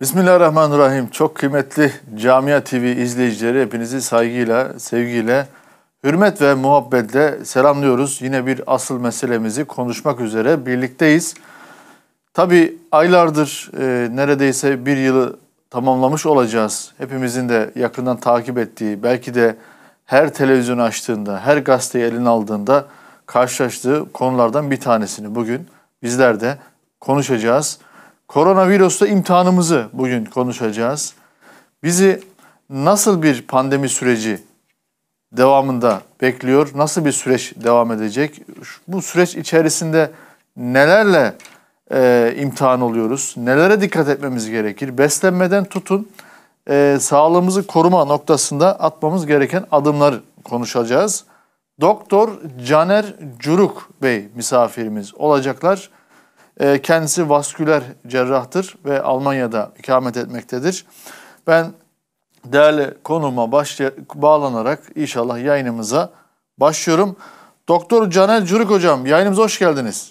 Bismillahirrahmanirrahim. Çok kıymetli Camia TV izleyicileri hepinizi saygıyla, sevgiyle, hürmet ve muhabbetle selamlıyoruz. Yine bir asıl meselemizi konuşmak üzere birlikteyiz. Tabii aylardır neredeyse bir yılı tamamlamış olacağız. Hepimizin de yakından takip ettiği, belki de her televizyon açtığında, her gazeteyi eline aldığında karşılaştığı konulardan bir tanesini bugün bizler de konuşacağız. Koronavirüsle imtihanımızı bugün konuşacağız. Bizi nasıl bir pandemi süreci devamında bekliyor? Nasıl bir süreç devam edecek? Bu süreç içerisinde nelerle imtihan oluyoruz? Nelere dikkat etmemiz gerekir? Beslenmeden tutun sağlığımızı koruma noktasında atmamız gereken adımları konuşacağız. Doktor Caner Curuk Bey misafirimiz olacaklar. Kendisi vasküler cerrahtır ve Almanya'da ikamet etmektedir. Ben değerli konuma bağlanarak inşallah yayınımıza başlıyorum. Doktor Caner Curuk hocam, yayınımıza hoş geldiniz.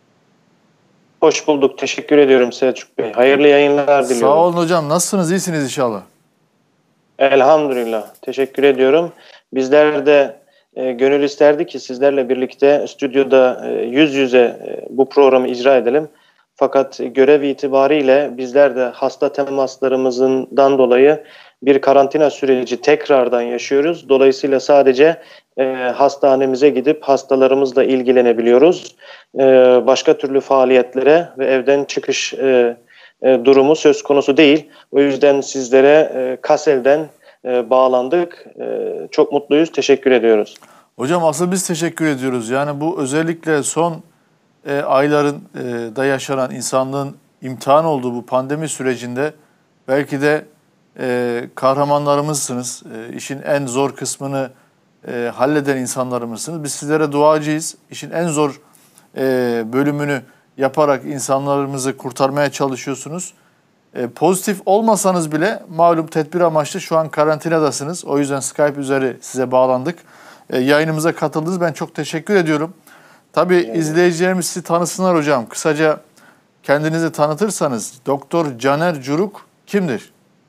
Hoş bulduk. Teşekkür ediyorum Selçuk Bey. Hayırlı yayınlar diliyorum. Sağ olun hocam. Nasılsınız? İyisiniz inşallah. Elhamdülillah. Teşekkür ediyorum. Bizler de gönül isterdi ki sizlerle birlikte stüdyoda yüz yüze bu programı icra edelim. Fakat görev itibariyle bizler de hasta temaslarımızdan dolayı bir karantina süreci tekrardan yaşıyoruz. Dolayısıyla sadece hastanemize gidip hastalarımızla ilgilenebiliyoruz. Başka türlü faaliyetlere ve evden çıkış durumu söz konusu değil. O yüzden sizlere Kassel'den bağlandık. Çok mutluyuz. Teşekkür ediyoruz. Hocam asıl biz teşekkür ediyoruz. Yani bu özellikle son ayların da yaşanan insanlığın imtihan olduğu bu pandemi sürecinde belki de kahramanlarımızsınız. İşin en zor kısmını halleden insanlarımızsınız. Biz sizlere duacıyız. İşin en zor bölümünü yaparak insanlarımızı kurtarmaya çalışıyorsunuz. Pozitif olmasanız bile malum tedbir amaçlı şu an karantinadasınız. O yüzden Skype üzeri size bağlandık. Yayınımıza katıldınız. Ben çok teşekkür ediyorum. Tabii izleyicilerimiz sizi tanısınlar hocam. Kısaca kendinizi tanıtırsanız Doktor Caner Curuk kimdir?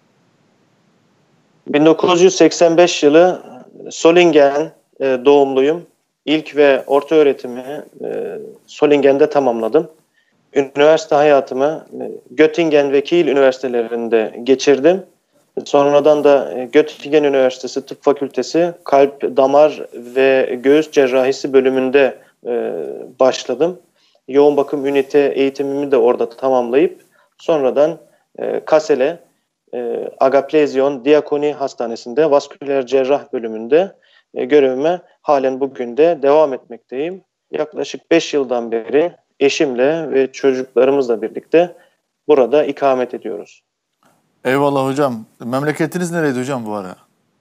1985 yılı Solingen doğumluyum. İlk ve orta öğretimi Solingen'de tamamladım. Üniversite hayatımı Göttingen ve Kiel üniversitelerinde geçirdim. Sonradan da Göttingen Üniversitesi Tıp Fakültesi Kalp, Damar ve Göğüs Cerrahisi bölümünde başladım. Yoğun bakım ünite eğitimimi de orada tamamlayıp sonradan Kassel'e Agaplezyon Diakoni Hastanesi'nde vasküler cerrah bölümünde görevime halen bugün de devam etmekteyim. Yaklaşık 5 yıldan beri eşimle ve çocuklarımızla birlikte burada ikamet ediyoruz. Eyvallah hocam. Memleketiniz nereydi hocam bu ara?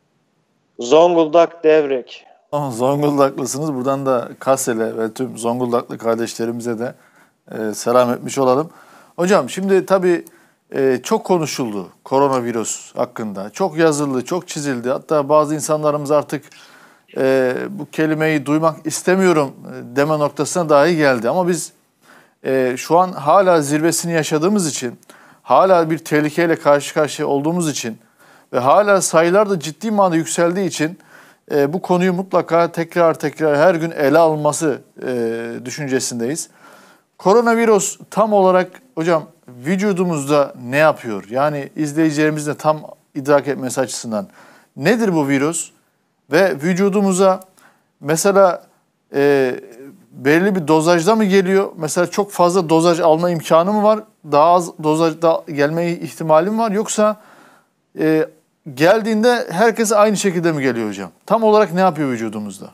Zonguldak Devrek. Zonguldaklısınız. Buradan da Kassel'e ve tüm Zonguldaklı kardeşlerimize de selam etmiş olalım. Hocam şimdi tabii çok konuşuldu koronavirüs hakkında. Çok yazıldı, çok çizildi. Hatta bazı insanlarımız artık bu kelimeyi duymak istemiyorum deme noktasına dahi geldi. Ama biz şu an hala zirvesini yaşadığımız için, hala bir tehlikeyle karşı karşıya olduğumuz için ve hala sayılar da ciddi manada yükseldiği için bu konuyu mutlaka tekrar her gün ele alınması düşüncesindeyiz. Koronavirüs tam olarak hocam vücudumuzda ne yapıyor? Yani izleyicilerimiz de tam idrak etmesi açısından nedir bu virüs? Ve vücudumuza mesela belirli bir dozajda mı geliyor? Mesela çok fazla dozaj alma imkanı mı var? Daha az dozajda gelme ihtimali mi var? Yoksa geldiğinde herkese aynı şekilde mi geliyor hocam? Tam olarak ne yapıyor vücudumuzda?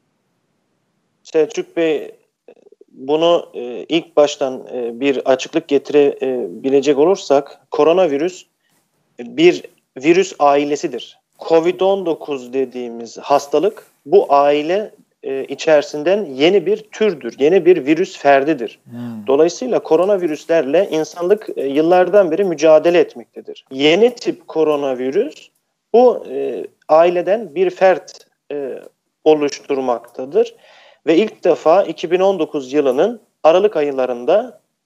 Selçuk Bey, bunu ilk baştan bir açıklık getirebilecek olursak koronavirüs bir virüs ailesidir. Covid-19 dediğimiz hastalık bu aile içerisinden yeni bir türdür, yeni bir virüs ferdidir. Dolayısıyla koronavirüslerle insanlık yıllardan beri mücadele etmektedir. Yeni tip koronavirüs bu aileden bir fert oluşturmaktadır. Ve ilk defa 2019 yılının Aralık aylarında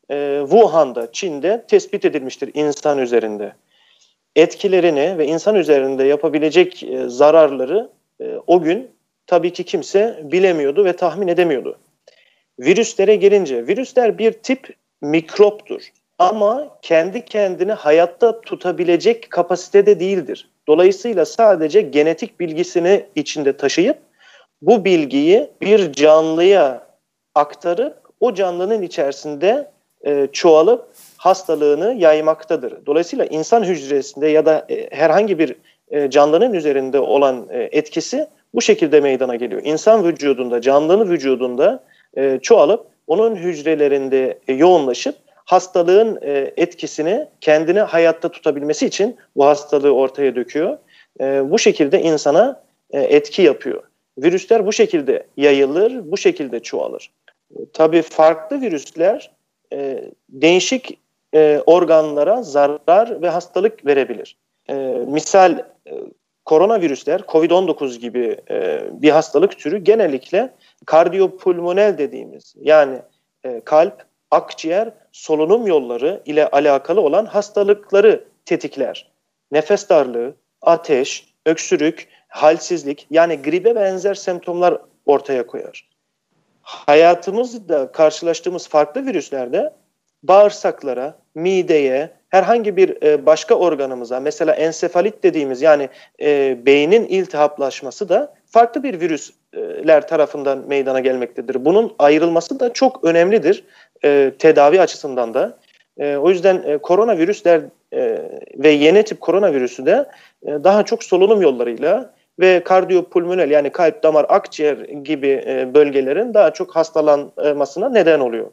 Wuhan'da, Çin'de tespit edilmiştir insan üzerinde. Etkilerini ve insan üzerinde yapabilecek zararları o gün tabii ki kimse bilemiyordu ve tahmin edemiyordu. Virüslere gelince, virüsler bir tip mikroptur ama kendi kendini hayatta tutabilecek kapasitede değildir. Dolayısıyla sadece genetik bilgisini içinde taşıyıp bu bilgiyi bir canlıya aktarıp o canlının içerisinde çoğalıp hastalığını yaymaktadır. Dolayısıyla insan hücresinde ya da herhangi bir canlının üzerinde olan etkisi bu şekilde meydana geliyor. İnsan vücudunda, canlının vücudunda çoğalıp onun hücrelerinde yoğunlaşıp hastalığın etkisini kendini hayatta tutabilmesi için bu hastalığı ortaya döküyor. Bu şekilde insana etki yapıyor. Virüsler bu şekilde yayılır, bu şekilde çoğalır. Tabii farklı virüsler değişik organlara zarar ve hastalık verebilir. Misal koronavirüsler, COVID-19 gibi bir hastalık türü genellikle kardiyopulmonel dediğimiz yani kalp, akciğer, solunum yolları ile alakalı olan hastalıkları tetikler. Nefes darlığı, ateş, öksürük, halsizlik yani gribe benzer semptomlar ortaya koyar. Hayatımızda karşılaştığımız farklı virüslerde bağırsaklara, mideye, herhangi bir başka organımıza mesela ensefalit dediğimiz yani beynin iltihaplaşması da farklı bir virüsler tarafından meydana gelmektedir. Bunun ayrılması da çok önemlidir tedavi açısından da. O yüzden koronavirüsler ve yeni tip koronavirüsü de daha çok solunum yollarıyla ve kardiyopulmonel yani kalp, damar, akciğer gibi bölgelerin daha çok hastalanmasına neden oluyor.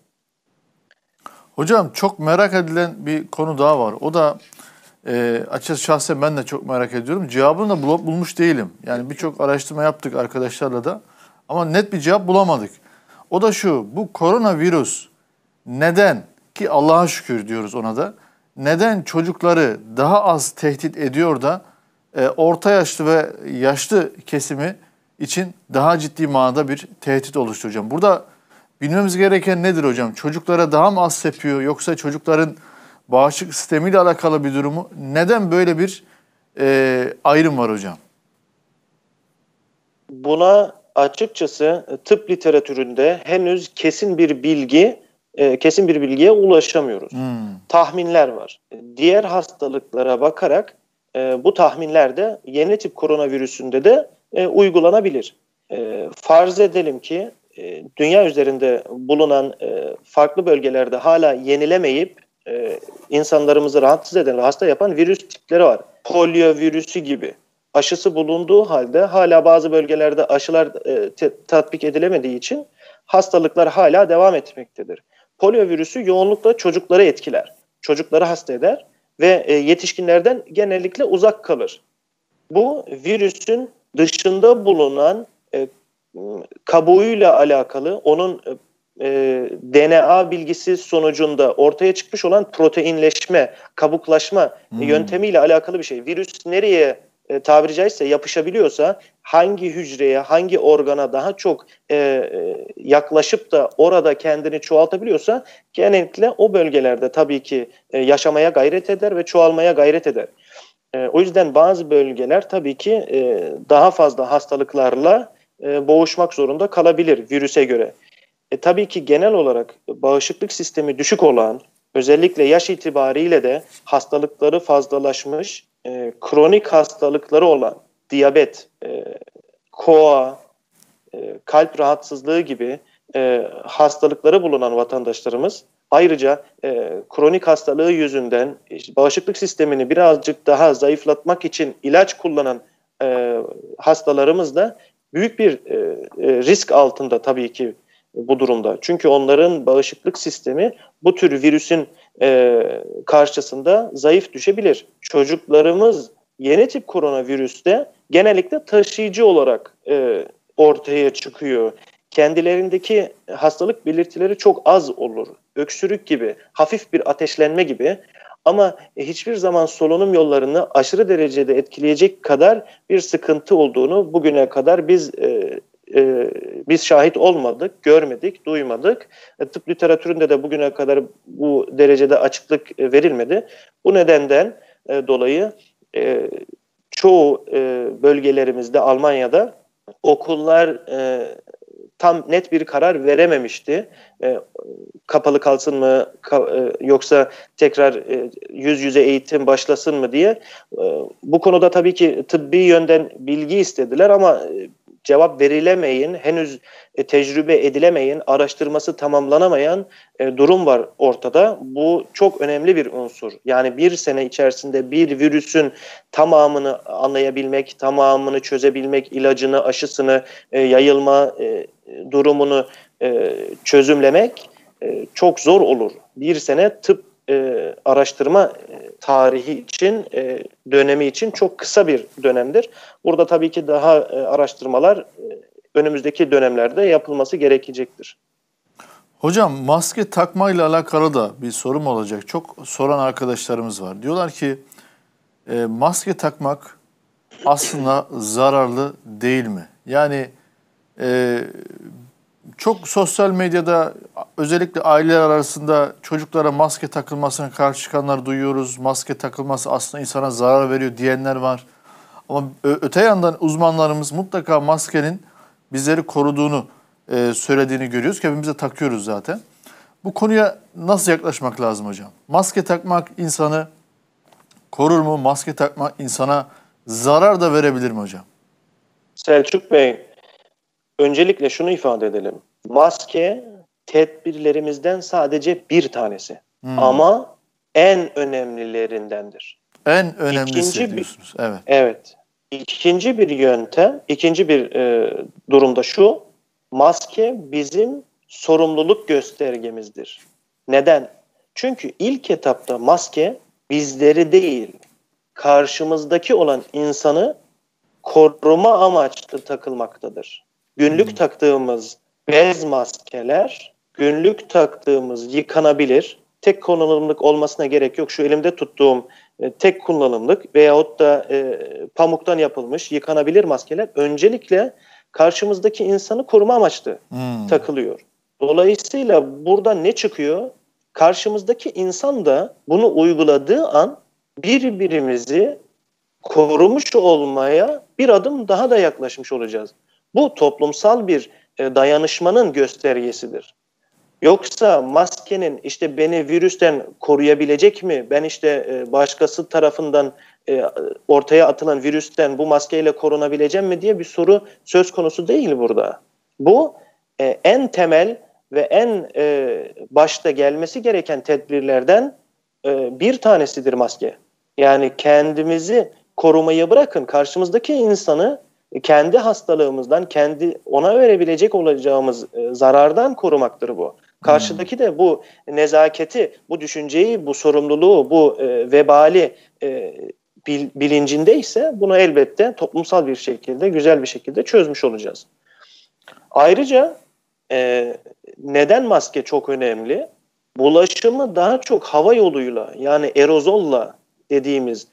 Hocam çok merak edilen bir konu daha var. O da açıkçası şahsen ben de çok merak ediyorum. Cevabını da bulmuş değilim. Yani birçok araştırma yaptık arkadaşlarla da ama net bir cevap bulamadık. O da şu, bu koronavirüs neden ki Allah'a şükür diyoruz ona da neden çocukları daha az tehdit ediyor da orta yaşlı ve yaşlı kesimi için daha ciddi manada bir tehdit oluşturacağım. Burada bilmemiz gereken nedir hocam? Çocuklara daha mı az sepiyor yoksa çocukların bağışıklık sistemiyle alakalı bir durumu? Neden böyle bir ayrım var hocam? Buna açıkçası tıp literatüründe henüz kesin bir bilgiye ulaşamıyoruz. Tahminler var. Diğer hastalıklara bakarak bu tahminler de yeni tip koronavirüsünde de uygulanabilir. Farz edelim ki dünya üzerinde bulunan farklı bölgelerde hala yenilemeyip insanlarımızı rahatsız eden ve hasta yapan virüs tipleri var. Polio virüsü gibi. Aşısı bulunduğu halde hala bazı bölgelerde aşılar tatbik edilemediği için hastalıklar hala devam etmektedir. Polio virüsü yoğunlukla çocukları etkiler. Çocukları hasta eder ve yetişkinlerden genellikle uzak kalır. Bu virüsün dışında bulunan kabuğuyla alakalı onun DNA bilgisi sonucunda ortaya çıkmış olan proteinleşme, kabuklaşma yöntemiyle alakalı bir şey. Virüs nereye tabiri caizse yapışabiliyorsa, hangi hücreye, hangi organa daha çok yaklaşıp da orada kendini çoğaltabiliyorsa genellikle o bölgelerde tabii ki yaşamaya gayret eder ve çoğalmaya gayret eder. O yüzden bazı bölgeler tabii ki daha fazla hastalıklarla boğuşmak zorunda kalabilir virüse göre. Tabii ki genel olarak bağışıklık sistemi düşük olan, özellikle yaş itibariyle de hastalıkları fazlalaşmış, kronik hastalıkları olan diyabet, koa, kalp rahatsızlığı gibi hastalıkları bulunan vatandaşlarımız ayrıca kronik hastalığı yüzünden bağışıklık sistemini birazcık daha zayıflatmak için ilaç kullanan hastalarımız da büyük bir risk altında tabii ki bu durumda. Çünkü onların bağışıklık sistemi bu tür virüsün karşısında zayıf düşebilir. Çocuklarımız yeni tip koronavirüste genellikle taşıyıcı olarak ortaya çıkıyor. Kendilerindeki hastalık belirtileri çok az olur. Öksürük gibi, hafif bir ateşlenme gibi. Ama hiçbir zaman solunum yollarını aşırı derecede etkileyecek kadar bir sıkıntı olduğunu bugüne kadar biz biz şahit olmadık, görmedik, duymadık. Tıp literatüründe de bugüne kadar bu derecede açıklık verilmedi. Bu nedenden dolayı çoğu bölgelerimizde, Almanya'da okullar tam net bir karar verememişti. Kapalı kalsın mı yoksa tekrar yüz yüze eğitim başlasın mı diye. Bu konuda tabii ki tıbbi yönden bilgi istediler ama cevap verilemeyin, henüz tecrübe edilemeyin, araştırması tamamlanamayan durum var ortada. Bu çok önemli bir unsur. Yani bir sene içerisinde bir virüsün tamamını anlayabilmek, tamamını çözebilmek, ilacını, aşısını, yayılma durumunu çözümlemek çok zor olur. Bir sene tıp araştırma tarihi için, dönemi için çok kısa bir dönemdir. Burada tabii ki daha araştırmalar önümüzdeki dönemlerde yapılması gerekecektir. Hocam maske takmayla alakalı da bir sorum olacak. Çok soran arkadaşlarımız var. Diyorlar ki maske takmak aslında zararlı değil mi? Yani çok sosyal medyada özellikle aileler arasında çocuklara maske takılmasına karşı çıkanlar duyuyoruz. Maske takılması aslında insana zarar veriyor diyenler var. Ama öte yandan uzmanlarımız mutlaka maskenin bizleri koruduğunu söylediğini görüyoruz ki hepimiz de takıyoruz zaten. Bu konuya nasıl yaklaşmak lazım hocam? Maske takmak insanı korur mu? Maske takmak insana zarar da verebilir mi hocam? Selçuk Bey, öncelikle şunu ifade edelim. Maske tedbirlerimizden sadece bir tanesi. Ama en önemlilerindendir. En önemlisi diyorsunuz. Evet. Evet. İkinci bir yöntem, ikinci bir durumda şu. Maske bizim sorumluluk göstergemizdir. Neden? Çünkü ilk etapta maske bizleri değil, karşımızdaki olan insanı koruma amaçlı takılmaktadır. Günlük taktığımız bez maskeler, günlük taktığımız yıkanabilir, tek kullanımlık olmasına gerek yok. Şu elimde tuttuğum tek kullanımlık veyahut da pamuktan yapılmış yıkanabilir maskeler öncelikle karşımızdaki insanı koruma amaçlı takılıyor. Dolayısıyla burada ne çıkıyor? Karşımızdaki insan da bunu uyguladığı an birbirimizi korumuş olmaya bir adım daha da yaklaşmış olacağız. Bu toplumsal bir dayanışmanın göstergesidir. Yoksa maskenin işte beni virüsten koruyabilecek mi? Ben işte başkası tarafından ortaya atılan virüsten bu maskeyle korunabileceğim mi diye bir soru söz konusu değil burada. Bu en temel ve en başta gelmesi gereken tedbirlerden bir tanesidir maske. Yani kendimizi korumayı bırakın, karşımızdaki insanı kendi hastalığımızdan, kendi ona verebilecek olacağımız zarardan korumaktır bu. Karşıdaki de bu nezaketi, bu düşünceyi, bu sorumluluğu, bu vebali bilincindeyse bunu elbette toplumsal bir şekilde, güzel bir şekilde çözmüş olacağız. Ayrıca neden maske çok önemli? Bulaşımı daha çok hava yoluyla, yani aerozolla dediğimiz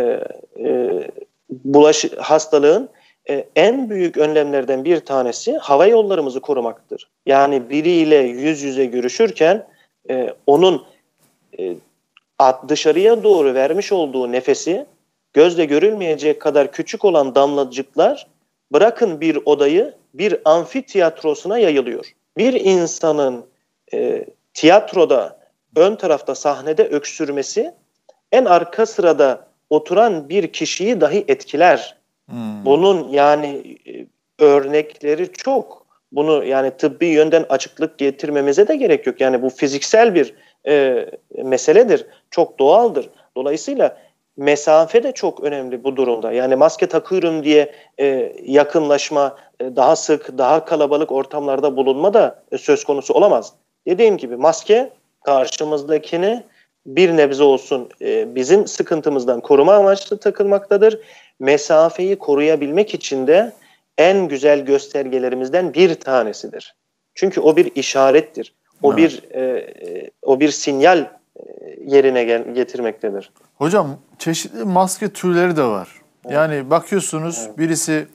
hastalığın en büyük önlemlerden bir tanesi hava yollarımızı korumaktır. Yani biriyle yüz yüze görüşürken onun dışarıya doğru vermiş olduğu nefesi gözle görülmeyecek kadar küçük olan damlacıklar bırakın bir odayı bir amfiteyatrosuna yayılıyor. Bir insanın tiyatroda ön tarafta sahnede öksürmesi en arka sırada oturan bir kişiyi dahi etkiler. Bunun yani örnekleri çok. Bunu yani tıbbi yönden açıklık getirmemize de gerek yok. Yani bu fiziksel bir meseledir. Çok doğaldır. Dolayısıyla mesafe de çok önemli bu durumda. Yani maske takıyorum diye yakınlaşma, daha sık, daha kalabalık ortamlarda bulunma da söz konusu olamaz. Dediğim gibi maske karşımızdakini bir nebze olsun bizim sıkıntımızdan koruma amaçlı takılmaktadır. Mesafeyi koruyabilmek için de en güzel göstergelerimizden bir tanesidir. Çünkü o bir işarettir. O bir sinyal yerine getirmektedir. Hocam çeşitli maske türleri de var. Yani bakıyorsunuz birisi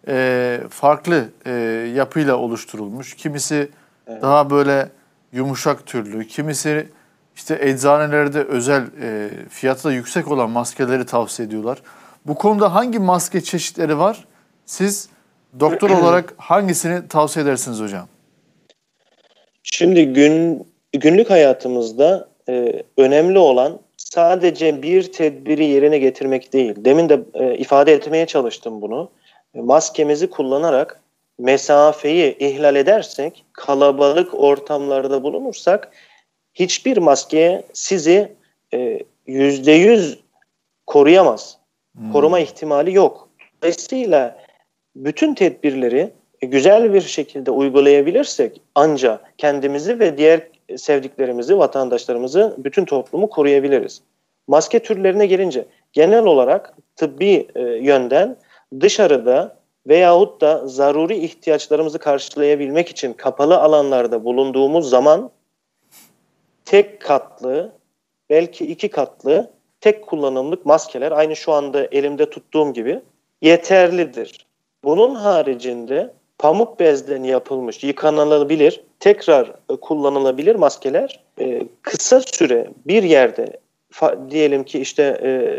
farklı yapıyla oluşturulmuş. Kimisi daha böyle yumuşak türlü, kimisi işte eczanelerde özel fiyatı da yüksek olan maskeleri tavsiye ediyorlar. Bu konuda hangi maske çeşitleri var? Siz doktor olarak hangisini tavsiye edersiniz hocam? Şimdi günlük hayatımızda önemli olan sadece bir tedbiri yerine getirmek değil. Demin de ifade etmeye çalıştım bunu. Maskemizi kullanarak mesafeyi ihlal edersek, kalabalık ortamlarda bulunursak hiçbir maske sizi %100 koruyamaz. Koruma ihtimali yok. Dolayısıyla bütün tedbirleri güzel bir şekilde uygulayabilirsek ancak kendimizi ve diğer sevdiklerimizi, vatandaşlarımızı, bütün toplumu koruyabiliriz. Maske türlerine gelince genel olarak tıbbi yönden dışarıda veyahut da zaruri ihtiyaçlarımızı karşılayabilmek için kapalı alanlarda bulunduğumuz zaman tek katlı, belki iki katlı, tek kullanımlık maskeler aynı şu anda elimde tuttuğum gibi yeterlidir. Bunun haricinde pamuk bezden yapılmış, yıkanılabilir, tekrar kullanılabilir maskeler kısa süre bir yerde diyelim ki işte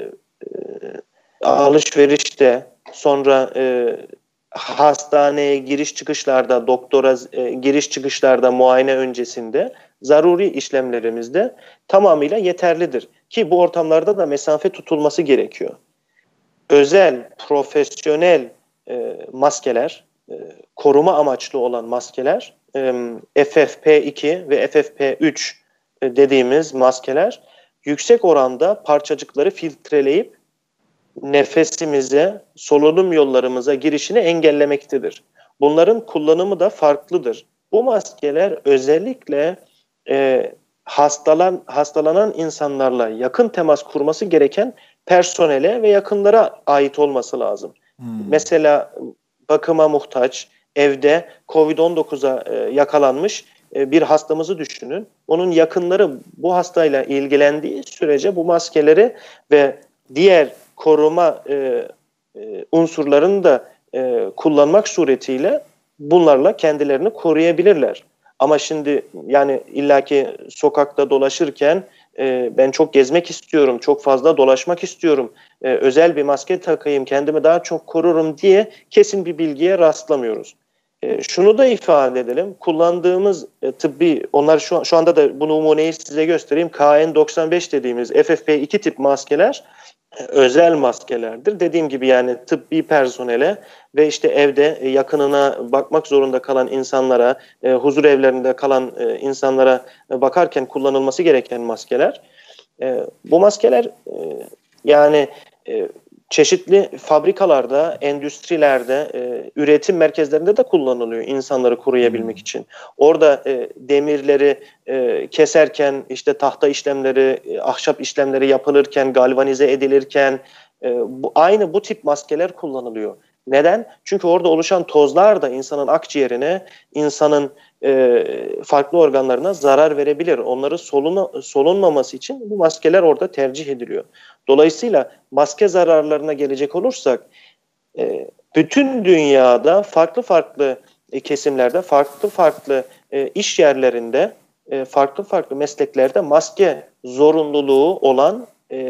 alışverişte, sonra hastaneye giriş çıkışlarda, doktora giriş çıkışlarda, muayene öncesinde zaruri işlemlerimizde tamamıyla yeterlidir. Ki bu ortamlarda da mesafe tutulması gerekiyor. Özel, profesyonel maskeler, koruma amaçlı olan maskeler, FFP2 ve FFP3 dediğimiz maskeler yüksek oranda parçacıkları filtreleyip nefesimize, solunum yollarımıza girişini engellemektedir. Bunların kullanımı da farklıdır. Bu maskeler özellikle hastalanan insanlarla yakın temas kurması gereken personele ve yakınlara ait olması lazım. Mesela bakıma muhtaç, evde COVID-19'a yakalanmış bir hastamızı düşünün. Onun yakınları bu hastayla ilgilendiği sürece bu maskeleri ve diğer koruma unsurlarını da kullanmak suretiyle bunlarla kendilerini koruyabilirler. Ama şimdi yani illaki sokakta dolaşırken ben çok gezmek istiyorum, çok fazla dolaşmak istiyorum, özel bir maske takayım, kendimi daha çok korurum diye kesin bir bilgiye rastlamıyoruz. Şunu da ifade edelim, kullandığımız tıbbi, onlar şu anda da bu numuneyi size göstereyim, KN95 dediğimiz FFP2 tip maskeler özel maskelerdir. Dediğim gibi yani tıbbi personele ve işte evde yakınına bakmak zorunda kalan insanlara, huzur evlerinde kalan insanlara bakarken kullanılması gereken maskeler. Bu maskeler yani çeşitli fabrikalarda, endüstrilerde, üretim merkezlerinde de kullanılıyor insanları koruyabilmek için. Orada demirleri keserken, işte tahta işlemleri, ahşap işlemleri yapılırken, galvanize edilirken aynı bu tip maskeler kullanılıyor. Neden? Çünkü orada oluşan tozlar da insanın akciğerine, insanın farklı organlarına zarar verebilir. Onları solunmaması için bu maskeler orada tercih ediliyor. Dolayısıyla maske zararlarına gelecek olursak bütün dünyada farklı farklı kesimlerde, farklı farklı iş yerlerinde, farklı farklı mesleklerde maske zorunluluğu olan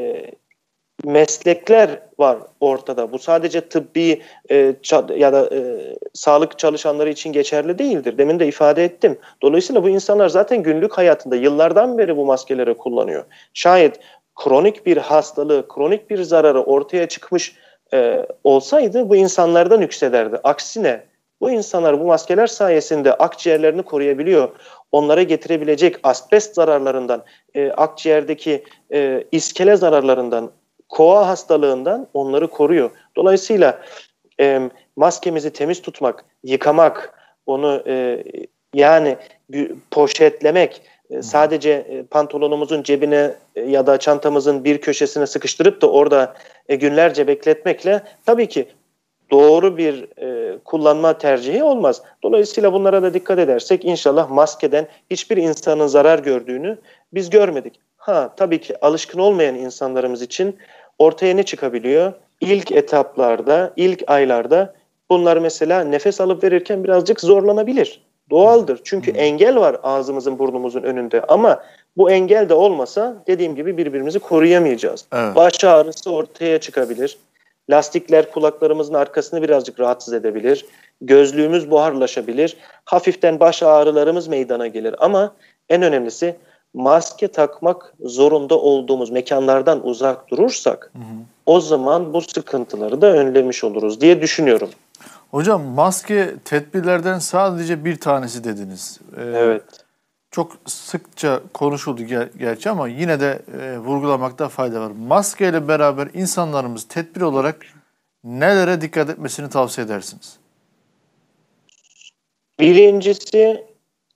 meslekler var ortada. Bu sadece tıbbi ya da sağlık çalışanları için geçerli değildir. Demin de ifade ettim. Dolayısıyla bu insanlar zaten günlük hayatında yıllardan beri bu maskeleri kullanıyor. Şayet kronik bir hastalığı, kronik bir zararı ortaya çıkmış olsaydı bu insanlardan yüksederdi. Aksine bu insanlar bu maskeler sayesinde akciğerlerini koruyabiliyor. Onlara getirebilecek asbest zararlarından, akciğerdeki iskele zararlarından, koa hastalığından onları koruyor. Dolayısıyla maskemizi temiz tutmak, yıkamak, onu yani poşetlemek, sadece pantolonumuzun cebine ya da çantamızın bir köşesine sıkıştırıp da orada günlerce bekletmekle tabii ki doğru bir kullanma tercihi olmaz. Dolayısıyla bunlara da dikkat edersek inşallah maskeden hiçbir insanın zarar gördüğünü biz görmedik. Tabii ki alışkın olmayan insanlarımız için ortaya ne çıkabiliyor? İlk etaplarda, ilk aylarda Bunlar mesela nefes alıp verirken birazcık zorlanabilir. Doğaldır. Çünkü engel var ağzımızın burnumuzun önünde. Ama bu engel de olmasa dediğim gibi birbirimizi koruyamayacağız. Evet. Baş ağrısı ortaya çıkabilir. Lastikler kulaklarımızın arkasını birazcık rahatsız edebilir. Gözlüğümüz buharlaşabilir. Hafiften baş ağrılarımız meydana gelir. Ama en önemlisi maske takmak zorunda olduğumuz mekanlardan uzak durursak o zaman bu sıkıntıları da önlemiş oluruz diye düşünüyorum. Hocam maske tedbirlerden sadece bir tanesi dediniz. Evet. Çok sıkça konuşuldu gerçi ama yine de vurgulamakta fayda var. Maske ile beraber insanlarımız tedbir olarak nelere dikkat etmesini tavsiye edersiniz? Birincisi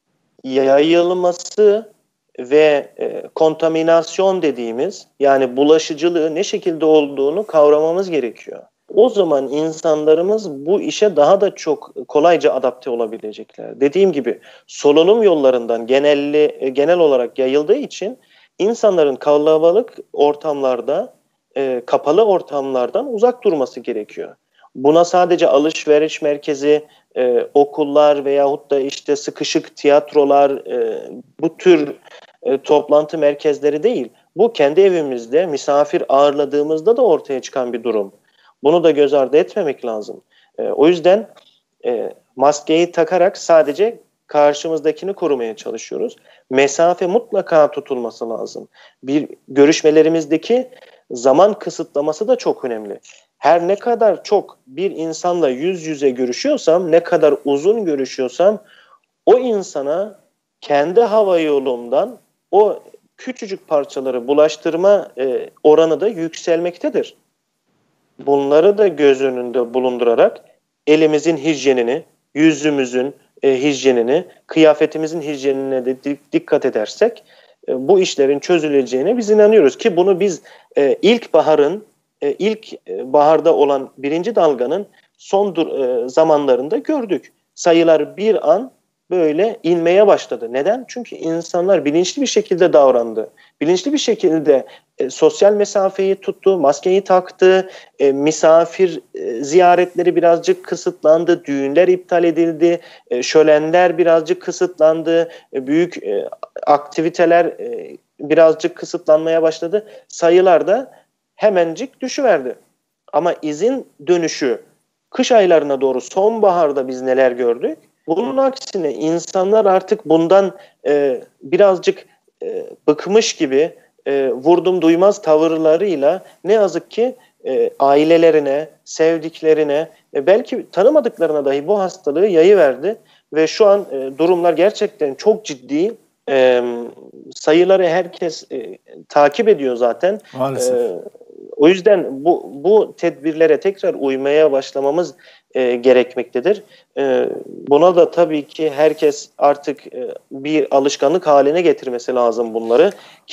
yayılması ve kontaminasyon dediğimiz, yani bulaşıcılığı ne şekilde olduğunu kavramamız gerekiyor. O zaman insanlarımız bu işe daha da çok kolayca adapte olabilecekler. Dediğim gibi solunum yollarından genel olarak yayıldığı için insanların kalabalık ortamlarda, kapalı ortamlardan uzak durması gerekiyor. Buna sadece alışveriş merkezi, okullar veyahut da işte sıkışık tiyatrolar, bu tür toplantı merkezleri değil. Bu kendi evimizde misafir ağırladığımızda da ortaya çıkan bir durum. Bunu da göz ardı etmemek lazım. O yüzden maskeyi takarak sadece karşımızdakini korumaya çalışıyoruz. Mesafe mutlaka tutulması lazım. Bir görüşmelerimizdeki zaman kısıtlaması da çok önemli. Her ne kadar çok bir insanla yüz yüze görüşüyorsam, ne kadar uzun görüşüyorsam o insana kendi hava yolumdan o küçücük parçaları bulaştırma oranı da yükselmektedir. Bunları da göz önünde bulundurarak elimizin hijyenini, yüzümüzün hijyenini, kıyafetimizin hijyenine de dikkat edersek bu işlerin çözüleceğine biz inanıyoruz ki bunu biz ilk baharda olan birinci dalganın son zamanlarında gördük. Sayılar bir an böyle inmeye başladı. Neden? Çünkü insanlar bilinçli bir şekilde davrandı. Bilinçli bir şekilde sosyal mesafeyi tuttu, maskeyi taktı, misafir ziyaretleri birazcık kısıtlandı, düğünler iptal edildi, şölenler birazcık kısıtlandı, büyük aktiviteler birazcık kısıtlanmaya başladı. Sayılar da hemencik düşüverdi. Ama izin dönüşü kış aylarına doğru sonbaharda biz neler gördük? Bunun aksine insanlar artık bundan birazcık bıkmış gibi vurdum duymaz tavırlarıyla ne yazık ki ailelerine, sevdiklerine, belki tanımadıklarına dahi bu hastalığı yayıverdi. Ve şu an durumlar gerçekten çok ciddi. Sayıları herkes takip ediyor zaten. Maalesef. O yüzden bu tedbirlere tekrar uymaya başlamamız gerekmektedir. Buna da tabii ki herkes artık bir alışkanlık haline getirmesi lazım bunları.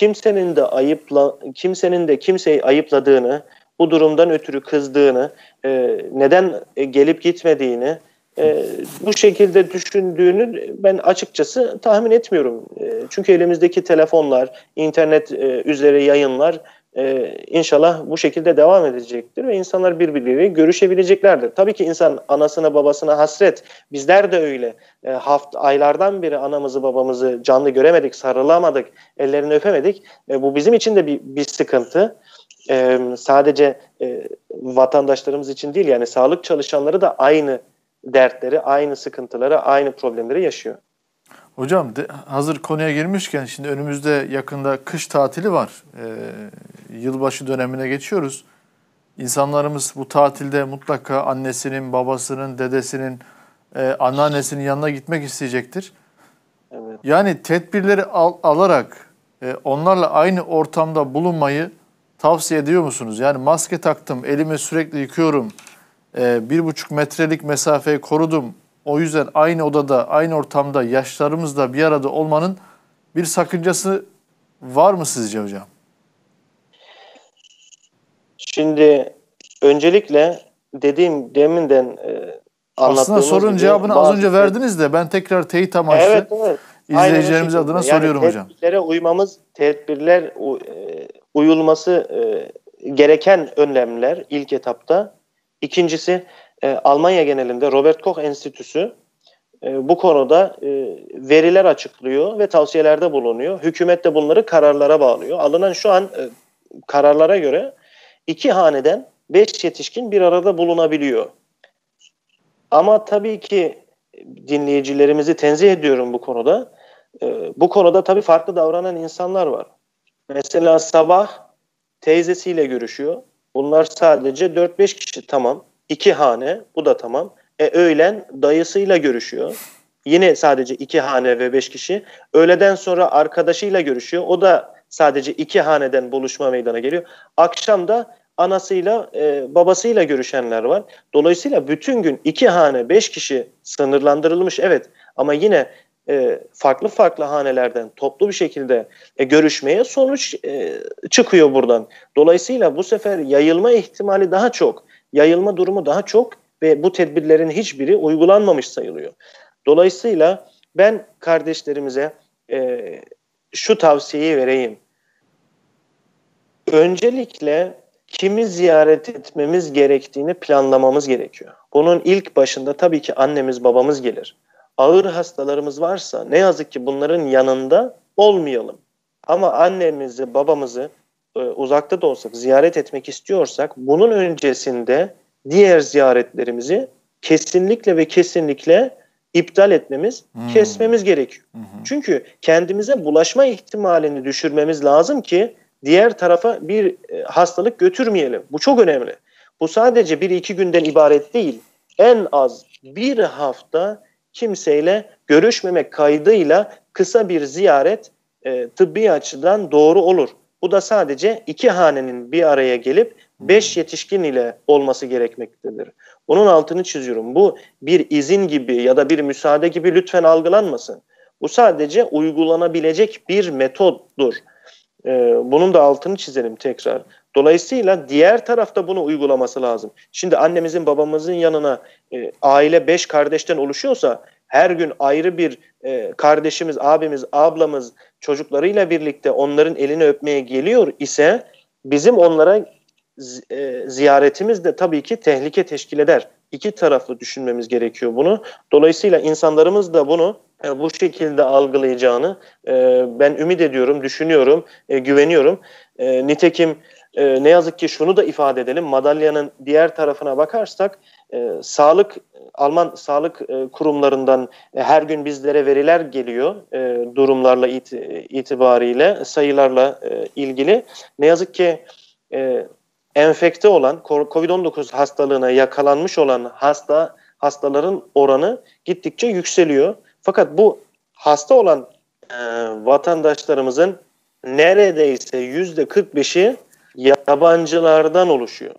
Kimsenin de kimseyi ayıpladığını, bu durumdan ötürü kızdığını, neden gelip gitmediğini, bu şekilde düşündüğünü ben açıkçası tahmin etmiyorum. Çünkü elimizdeki telefonlar, internet üzeri yayınlar inşallah bu şekilde devam edecektir ve insanlar birbirleriyle görüşebileceklerdir. Tabii ki insan anasına babasına hasret. Bizler de öyle. Aylardan beri anamızı babamızı canlı göremedik, sarılamadık, ellerini öpemedik. Bu bizim için de bir sıkıntı. Sadece vatandaşlarımız için değil, yani sağlık çalışanları da aynı dertleri, aynı sıkıntıları, aynı problemleri yaşıyor. Hocam hazır konuya girmişken şimdi önümüzde yakında kış tatili var. Yılbaşı dönemine geçiyoruz. İnsanlarımız bu tatilde mutlaka annesinin, babasının, dedesinin, anneannesinin yanına gitmek isteyecektir. Evet. Yani tedbirleri alarak onlarla aynı ortamda bulunmayı tavsiye ediyor musunuz? Yani maske taktım, elimi sürekli yıkıyorum, 1,5 metrelik mesafeyi korudum. O yüzden aynı odada, aynı ortamda yaşlarımızla bir arada olmanın bir sakıncası var mı sizce hocam? Şimdi öncelikle deminden anlattığımız aslında sorunun gibi cevabını az önce verdiniz de ben tekrar teyit amaçlı evet. izleyicilerimiz adına soruyorum hocam. Tedbirlere uyulması gereken önlemler ilk etapta. İkincisi Almanya genelinde Robert Koch Enstitüsü bu konuda veriler açıklıyor ve tavsiyelerde bulunuyor. Hükümet de bunları kararlara bağlıyor. Alınan şu an kararlara göre 2 haneden 5 yetişkin bir arada bulunabiliyor. Ama tabii ki dinleyicilerimizi tenzih ediyorum bu konuda. Bu konuda tabii farklı davranan insanlar var. Mesela sabah teyzesiyle görüşüyor. Bunlar sadece 4-5 kişi, tamam. 2 hane, bu da tamam. Öğlen dayısıyla görüşüyor. Yine sadece 2 hane ve 5 kişi. Öğleden sonra arkadaşıyla görüşüyor. O da sadece 2 haneden buluşma meydana geliyor. Akşam da anasıyla, babasıyla görüşenler var. Dolayısıyla bütün gün 2 hane, 5 kişi sınırlandırılmış, evet. Ama yine farklı farklı hanelerden toplu bir şekilde görüşmeye sonuç çıkıyor buradan. Dolayısıyla bu sefer yayılma ihtimali daha çok, yayılma durumu daha çok ve bu tedbirlerin hiçbiri uygulanmamış sayılıyor. Dolayısıyla ben kardeşlerimize şu tavsiyeyi vereyim. Öncelikle kimi ziyaret etmemiz gerektiğini planlamamız gerekiyor. Bunun ilk başında tabii ki annemiz, babamız gelir. Ağır hastalarımız varsa ne yazık ki bunların yanında olmayalım. Ama annemizi, babamızı uzakta da olsak ziyaret etmek istiyorsak bunun öncesinde diğer ziyaretlerimizi kesinlikle ve kesinlikle iptal etmemiz, kesmemiz gerekiyor. Çünkü kendimize bulaşma ihtimalini düşürmemiz lazım ki diğer tarafa bir hastalık götürmeyelim. Bu çok önemli. Bu sadece 1-2 günden ibaret değil. En az bir hafta kimseyle görüşmemek kaydıyla kısa bir ziyaret tıbbi açıdan doğru olur. Bu da sadece 2 hanenin bir araya gelip 5 yetişkin ile olması gerekmektedir. Bunun altını çiziyorum. Bu bir izin gibi ya da bir müsaade gibi lütfen algılanmasın. Bu sadece uygulanabilecek bir metoddur. Bunun da altını çizelim tekrar. Dolayısıyla diğer tarafta bunu uygulaması lazım. Şimdi annemizin, babamızın yanına aile 5 kardeşten oluşuyorsa her gün ayrı bir kardeşimiz, abimiz, ablamız çocuklarıyla birlikte onların elini öpmeye geliyor ise bizim onlara ziyaretimiz de tabii ki tehlike teşkil eder. İki taraflı düşünmemiz gerekiyor bunu. Dolayısıyla insanlarımız da bunu bu şekilde algılayacağını ben ümit ediyorum, düşünüyorum, güveniyorum. Nitekim ne yazık ki şunu da ifade edelim. Madalyanın diğer tarafına bakarsak Alman sağlık kurumlarından her gün bizlere veriler geliyor durumlarla itibariyle, sayılarla ilgili. Ne yazık ki enfekte olan, COVID-19 hastalığına yakalanmış olan hastaların oranı gittikçe yükseliyor. Fakat bu hasta olan vatandaşlarımızın neredeyse %45'i yabancılardan oluşuyor.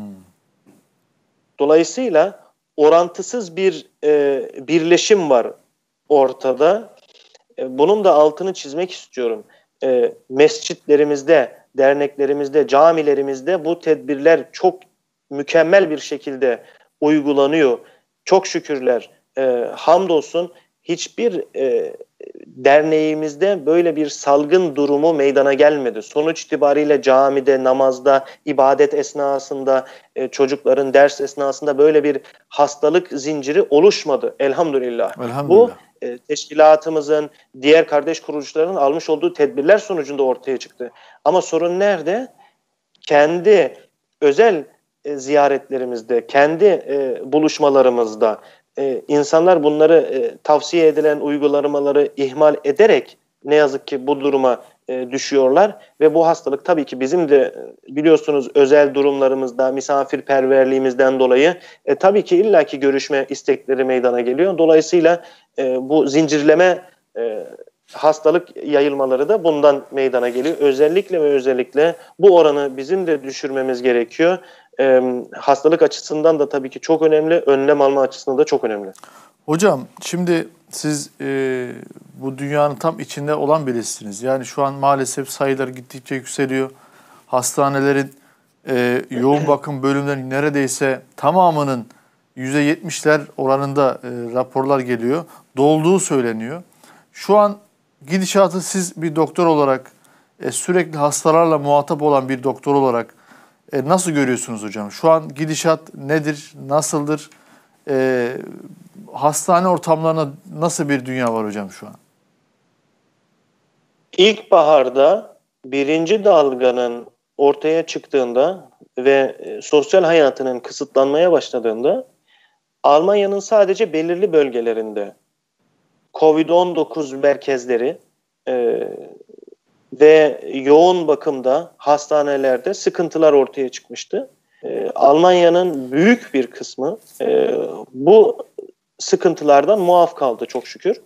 Dolayısıyla orantısız bir birleşim var ortada. Bunun da altını çizmek istiyorum. Mescitlerimizde, derneklerimizde, camilerimizde bu tedbirler çok mükemmel bir şekilde uygulanıyor. Çok şükürler. Hamdolsun hiçbir derneğimizde böyle bir salgın durumu meydana gelmedi. Sonuç itibariyle camide, namazda, ibadet esnasında, çocukların ders esnasında böyle bir hastalık zinciri oluşmadı. Elhamdülillah. Elhamdülillah. Bu teşkilatımızın, diğer kardeş kuruluşlarının almış olduğu tedbirler sonucunda ortaya çıktı. Ama sorun nerede? Kendi özel ziyaretlerimizde, kendi buluşmalarımızda insanlar bunları tavsiye edilen uygulamaları ihmal ederek ne yazık ki bu duruma düşüyorlar ve bu hastalık tabii ki bizim de biliyorsunuz özel durumlarımızda, misafirperverliğimizden dolayı tabii ki illaki görüşme istekleri meydana geliyor. Dolayısıyla bu zincirleme hastalık yayılmaları da bundan meydana geliyor. Özellikle ve özellikle bu oranı bizim de düşürmemiz gerekiyor. Hastalık açısından da tabii ki çok önemli, önlem alma açısından da çok önemli. Hocam şimdi siz bu dünyanın tam içinde olan birisiniz. Yani şu an maalesef sayılar gittikçe yükseliyor. Hastanelerin yoğun bakım bölümlerinin neredeyse tamamının %70'ler oranında raporlar geliyor. Dolduğu söyleniyor. Şu an gidişatı siz bir doktor olarak sürekli hastalarla muhatap olan bir doktor olarak Nasıl görüyorsunuz hocam? Şu an gidişat nedir, nasıldır? Hastane ortamlarında nasıl bir dünya var hocam şu an? İlkbaharda birinci dalganın ortaya çıktığında ve sosyal hayatının kısıtlanmaya başladığında Almanya'nın sadece belirli bölgelerinde COVID-19 merkezleri ve yoğun bakımda hastanelerde sıkıntılar ortaya çıkmıştı. Almanya'nın büyük bir kısmı bu sıkıntılardan muaf kaldı çok şükür.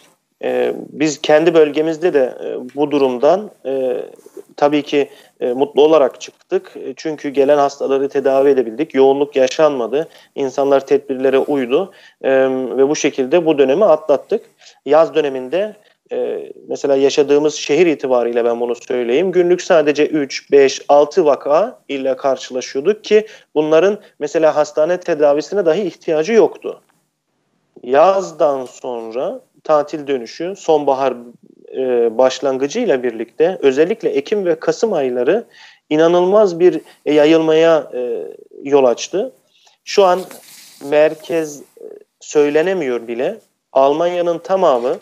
Biz kendi bölgemizde de bu durumdan tabii ki mutlu olarak çıktık. Çünkü gelen hastaları tedavi edebildik. Yoğunluk yaşanmadı. İnsanlar tedbirlere uydu. Ve bu şekilde bu dönemi atlattık. Yaz döneminde mesela yaşadığımız şehir itibariyle ben bunu söyleyeyim. Günlük sadece 3, 5, 6 vaka ile karşılaşıyorduk ki bunların mesela hastane tedavisine dahi ihtiyacı yoktu. Yazdan sonra tatil dönüşü, sonbahar başlangıcıyla birlikte özellikle Ekim ve Kasım ayları inanılmaz bir yayılmaya yol açtı. Şu an merkez söylenemiyor bile. Almanya'nın tamamı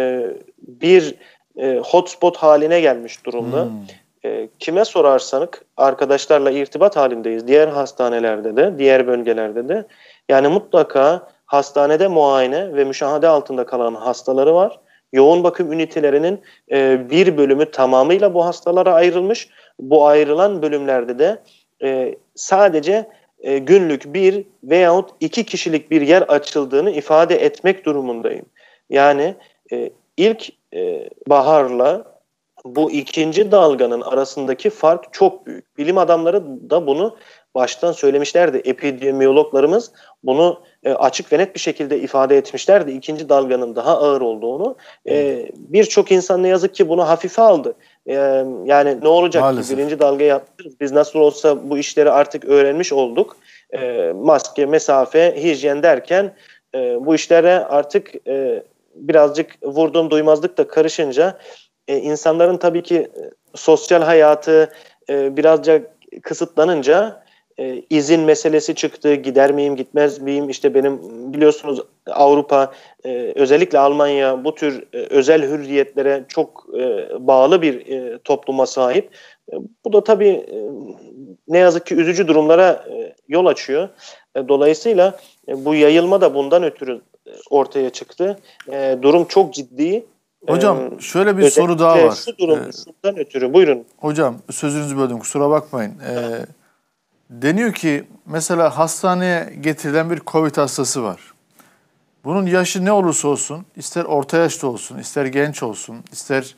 bir hotspot haline gelmiş durumda. Kime sorarsanız arkadaşlarla irtibat halindeyiz. Diğer hastanelerde de, diğer bölgelerde de. Yani mutlaka hastanede muayene ve müşahede altında kalan hastaları var. Yoğun bakım ünitelerinin bir bölümü tamamıyla bu hastalara ayrılmış. Bu ayrılan bölümlerde de sadece günlük bir veyahut 2 kişilik bir yer açıldığını ifade etmek durumundayım. Yani ilk baharla bu ikinci dalganın arasındaki fark çok büyük. Bilim adamları da bunu baştan söylemişlerdi. Epidemiyologlarımız bunu açık ve net bir şekilde ifade etmişlerdi. İkinci dalganın daha ağır olduğunu. Birçok insan ne yazık ki bunu hafife aldı. Yani ne olacak Maalesef. ki birinci dalgayı atlatırız. Biz nasıl olsa bu işleri artık öğrenmiş olduk. Maske, mesafe, hijyen derken bu işlere artık birazcık vurduğum duymazlık da karışınca insanların tabii ki sosyal hayatı birazcık kısıtlanınca izin meselesi çıktı. Gider miyim, gitmez miyim? İşte benim biliyorsunuz Avrupa, özellikle Almanya bu tür özel hürriyetlere çok bağlı bir topluma sahip. Bu da tabii ne yazık ki üzücü durumlara yol açıyor. Dolayısıyla bu yayılma da bundan ötürü ortaya çıktı. Durum çok ciddi. Hocam şöyle bir soru daha var. Şu durum şundan ötürü. Buyurun. Hocam sözünüzü böldüm, kusura bakmayın. Deniyor ki mesela hastaneye getirilen bir COVID hastası var. Bunun yaşı ne olursa olsun, ister orta yaşta olsun, ister genç olsun, ister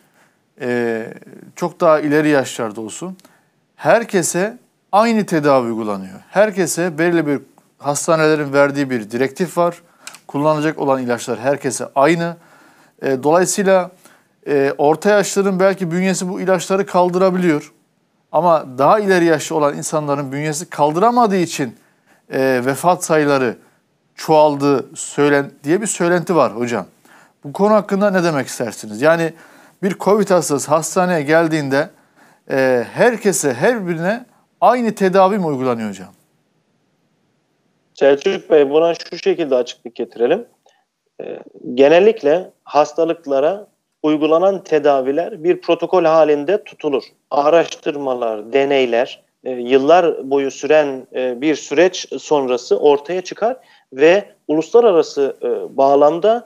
çok daha ileri yaşlarda olsun, herkese aynı tedavi uygulanıyor. Herkese belirli bir hastanelerin verdiği bir direktif var. Kullanılacak olan ilaçlar herkese aynı. Dolayısıyla orta yaşların belki bünyesi bu ilaçları kaldırabiliyor. Ama daha ileri yaşlı olan insanların bünyesi kaldıramadığı için vefat sayıları çoğaldı diye bir söylenti var hocam. Bu konu hakkında ne demek istersiniz? Yani bir COVID hastası hastaneye geldiğinde herkese, her birine aynı tedavi mi uygulanıyor hocam? Selçuk Bey, buna şu şekilde açıklık getirelim. Genellikle hastalıklara uygulanan tedaviler bir protokol halinde tutulur. Araştırmalar, deneyler, yıllar boyu süren bir süreç sonrası ortaya çıkar ve uluslararası bağlamda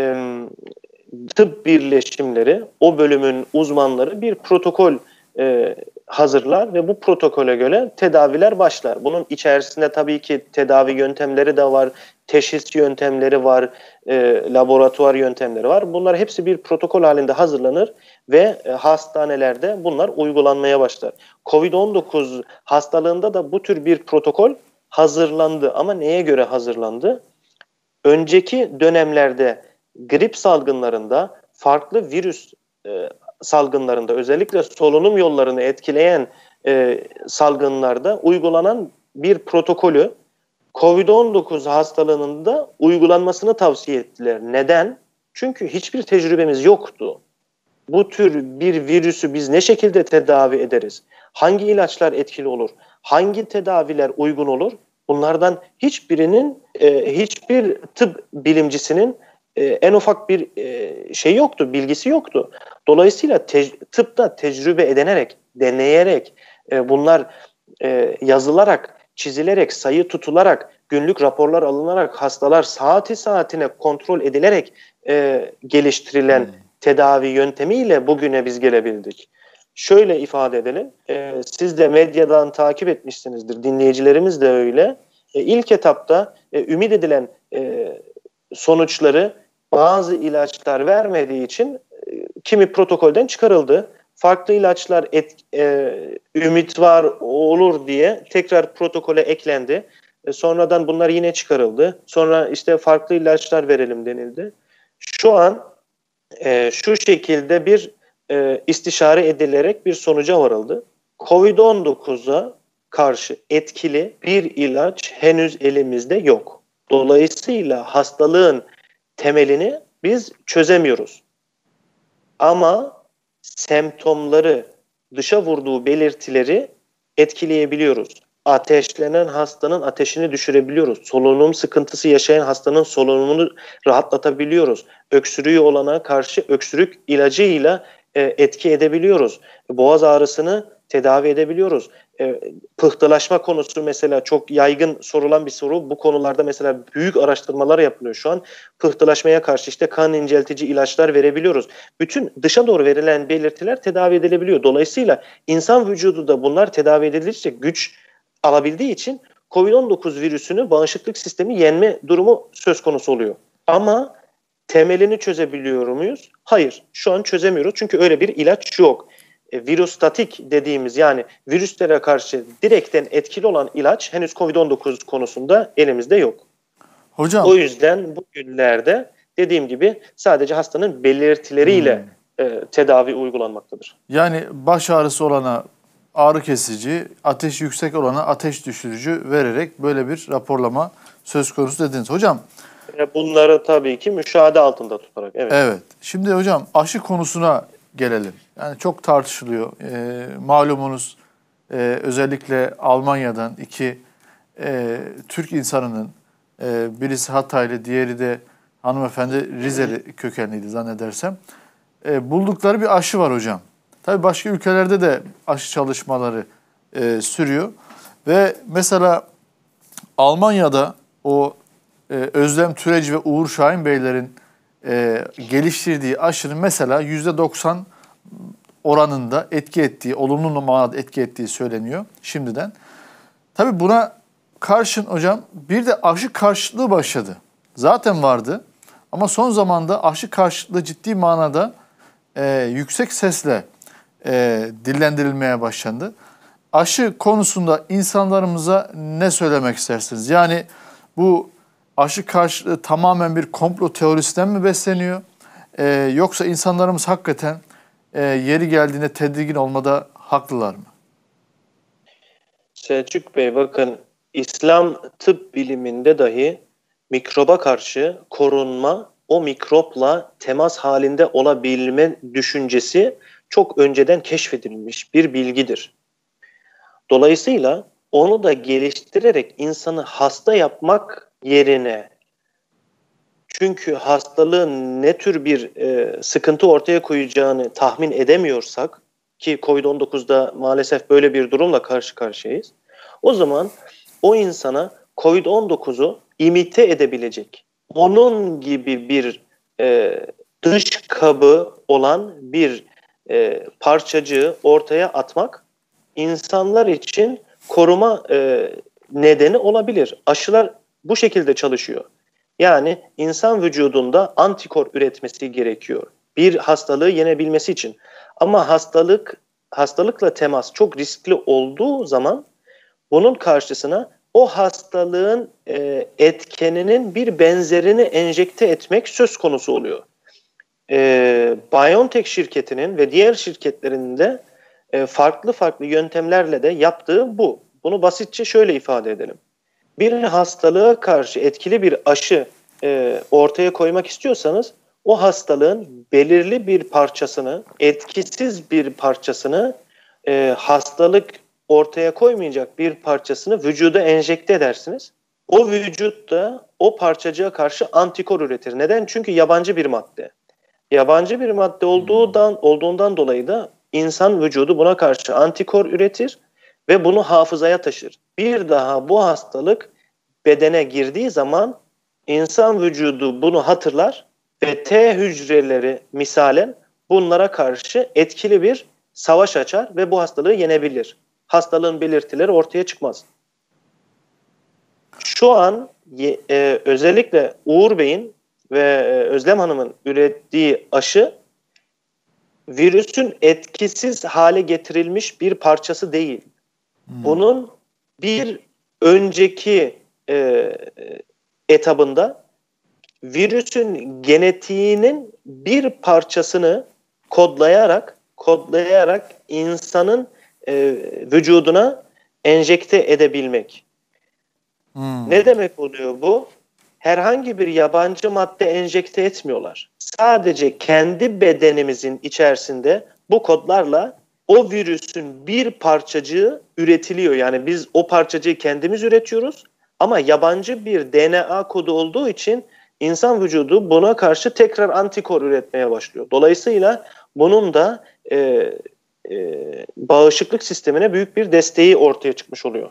tıp birleşimleri, o bölümün uzmanları bir protokol hazırlar ve bu protokole göre tedaviler başlar. Bunun içerisinde tabii ki tedavi yöntemleri de var, teşhis yöntemleri var, laboratuvar yöntemleri var. Bunlar hepsi bir protokol halinde hazırlanır ve hastanelerde bunlar uygulanmaya başlar. COVID-19 hastalığında da bu tür bir protokol hazırlandı ama neye göre hazırlandı? Önceki dönemlerde grip salgınlarında, farklı virüs salgınlarında, özellikle solunum yollarını etkileyen salgınlarda uygulanan bir protokolü COVID-19 hastalığının da uygulanmasını tavsiye ettiler. Neden? Çünkü hiçbir tecrübemiz yoktu. bu tür bir virüsü biz ne şekilde tedavi ederiz? Hangi ilaçlar etkili olur? Hangi tedaviler uygun olur? Bunlardan hiçbir tıp bilimcisinin en ufak bir şey yoktu, bilgisi yoktu. Dolayısıyla tıpta tecrübe edinerek, deneyerek, bunlar yazılarak, çizilerek, sayı tutularak, günlük raporlar alınarak, hastalar saati saatine kontrol edilerek geliştirilen tedavi yöntemiyle bugüne biz gelebildik. Şöyle ifade edelim, siz de medyadan takip etmişsinizdir, dinleyicilerimiz de öyle. İlk etapta ümit edilen sonuçları bazı ilaçlar vermediği için kimi protokolden çıkarıldı. Farklı ilaçlar ümit var olur diye tekrar protokole eklendi. Sonradan bunlar yine çıkarıldı. Sonra işte farklı ilaçlar verelim denildi. Şu an şu şekilde bir istişare edilerek bir sonuca varıldı. Covid-19'a karşı etkili bir ilaç henüz elimizde yok. Dolayısıyla hastalığın temelini biz çözemiyoruz. Ama semptomları, dışa vurduğu belirtileri etkileyebiliyoruz. Ateşlenen hastanın ateşini düşürebiliyoruz. Solunum sıkıntısı yaşayan hastanın solunumunu rahatlatabiliyoruz. Öksürüğü olana karşı öksürük ilacıyla etki edebiliyoruz. Boğaz ağrısını tedavi edebiliyoruz. Pıhtılaşma konusu mesela çok yaygın sorulan bir soru. Bu konularda mesela büyük araştırmalar yapılıyor şu an. Pıhtılaşmaya karşı işte kan inceltici ilaçlar verebiliyoruz. Bütün dışa doğru verilen belirtiler tedavi edilebiliyor. Dolayısıyla insan vücudu da bunlar tedavi edildikçe güç alabildiği için COVID-19 virüsünü bağışıklık sistemi yenme durumu söz konusu oluyor. Ama temelini çözebiliyor muyuz? Hayır, şu an çözemiyoruz çünkü öyle bir ilaç yok. Virostatik dediğimiz yani virüslere karşı direkten etkili olan ilaç henüz COVID-19 konusunda elimizde yok. Hocam. O yüzden bugünlerde dediğim gibi sadece hastanın belirtileriyle tedavi uygulanmaktadır. Yani baş ağrısı olana ağrı kesici, ateş yüksek olana ateş düşürücü vererek böyle bir raporlama söz konusu dediniz. Hocam. Bunları tabii ki müşahede altında tutarak. Evet. Evet. Şimdi hocam aşı konusuna gelelim. Yani çok tartışılıyor. Malumunuz özellikle Almanya'dan iki Türk insanının birisi Hataylı, diğeri de hanımefendi Rizeli kökenliydi zannedersem. Buldukları bir aşı var hocam. Tabii başka ülkelerde de aşı çalışmaları sürüyor. Ve mesela Almanya'da o Özlem Türeci ve Uğur Şahin Beylerin geliştirdiği aşının mesela %90 oranında etki ettiği, olumlu manada etki ettiği söyleniyor şimdiden. Tabii buna karşın hocam bir de aşı karşıtlığı başladı. Zaten vardı ama son zamanda aşı karşıtlığı ciddi manada yüksek sesle dillendirilmeye başlandı. Aşı konusunda insanlarımıza ne söylemek istersiniz? Yani bu aşı karşıtlığı tamamen bir komplo teorisinden mi besleniyor? Yoksa insanlarımız hakikaten yeri geldiğinde tedirgin olmada haklılar mı? Selçuk Bey bakın İslam tıp biliminde dahi mikroba karşı korunma, o mikropla temas halinde olabilme düşüncesi çok önceden keşfedilmiş bir bilgidir. Dolayısıyla onu da geliştirerek insanı hasta yapmak yerine, çünkü hastalığın ne tür bir sıkıntı ortaya koyacağını tahmin edemiyorsak, ki COVID-19'da maalesef böyle bir durumla karşı karşıyayız, o zaman o insana COVID-19'u imite edebilecek, onun gibi bir dış kabı olan bir parçacığı ortaya atmak insanlar için koruma nedeni olabilir. Aşılar bu şekilde çalışıyor. Yani insan vücudunda antikor üretmesi gerekiyor bir hastalığı yenebilmesi için. Ama hastalıkla temas çok riskli olduğu zaman bunun karşısına o hastalığın etkeninin bir benzerini enjekte etmek söz konusu oluyor. BioNTech şirketinin ve diğer şirketlerin de farklı farklı yöntemlerle de yaptığı bu. Bunu basitçe şöyle ifade edelim. Bir hastalığa karşı etkili bir aşı ortaya koymak istiyorsanız o hastalığın belirli bir parçasını, etkisiz bir parçasını, hastalık ortaya koymayacak bir parçasını vücuda enjekte edersiniz. O vücut da o parçacığa karşı antikor üretir. Neden? Çünkü yabancı bir madde. Yabancı bir madde olduğundan dolayı da insan vücudu buna karşı antikor üretir ve bunu hafızaya taşır. Bir daha bu hastalık bedene girdiği zaman insan vücudu bunu hatırlar ve T hücreleri misalen bunlara karşı etkili bir savaş açar ve bu hastalığı yenebilir. Hastalığın belirtileri ortaya çıkmaz. Şu an özellikle Uğur Bey'in ve Özlem Hanım'ın ürettiği aşı virüsün etkisiz hale getirilmiş bir parçası değil. Bunun bir önceki etabında virüsün genetiğinin bir parçasını kodlayarak insanın vücuduna enjekte edebilmek. Ne demek oluyor bu? Herhangi bir yabancı madde enjekte etmiyorlar. Sadece kendi bedenimizin içerisinde bu kodlarla o virüsün bir parçacığı üretiliyor. Yani biz o parçacığı kendimiz üretiyoruz ama yabancı bir DNA kodu olduğu için insan vücudu buna karşı tekrar antikor üretmeye başlıyor. Dolayısıyla bunun da bağışıklık sistemine büyük bir desteği ortaya çıkmış oluyor.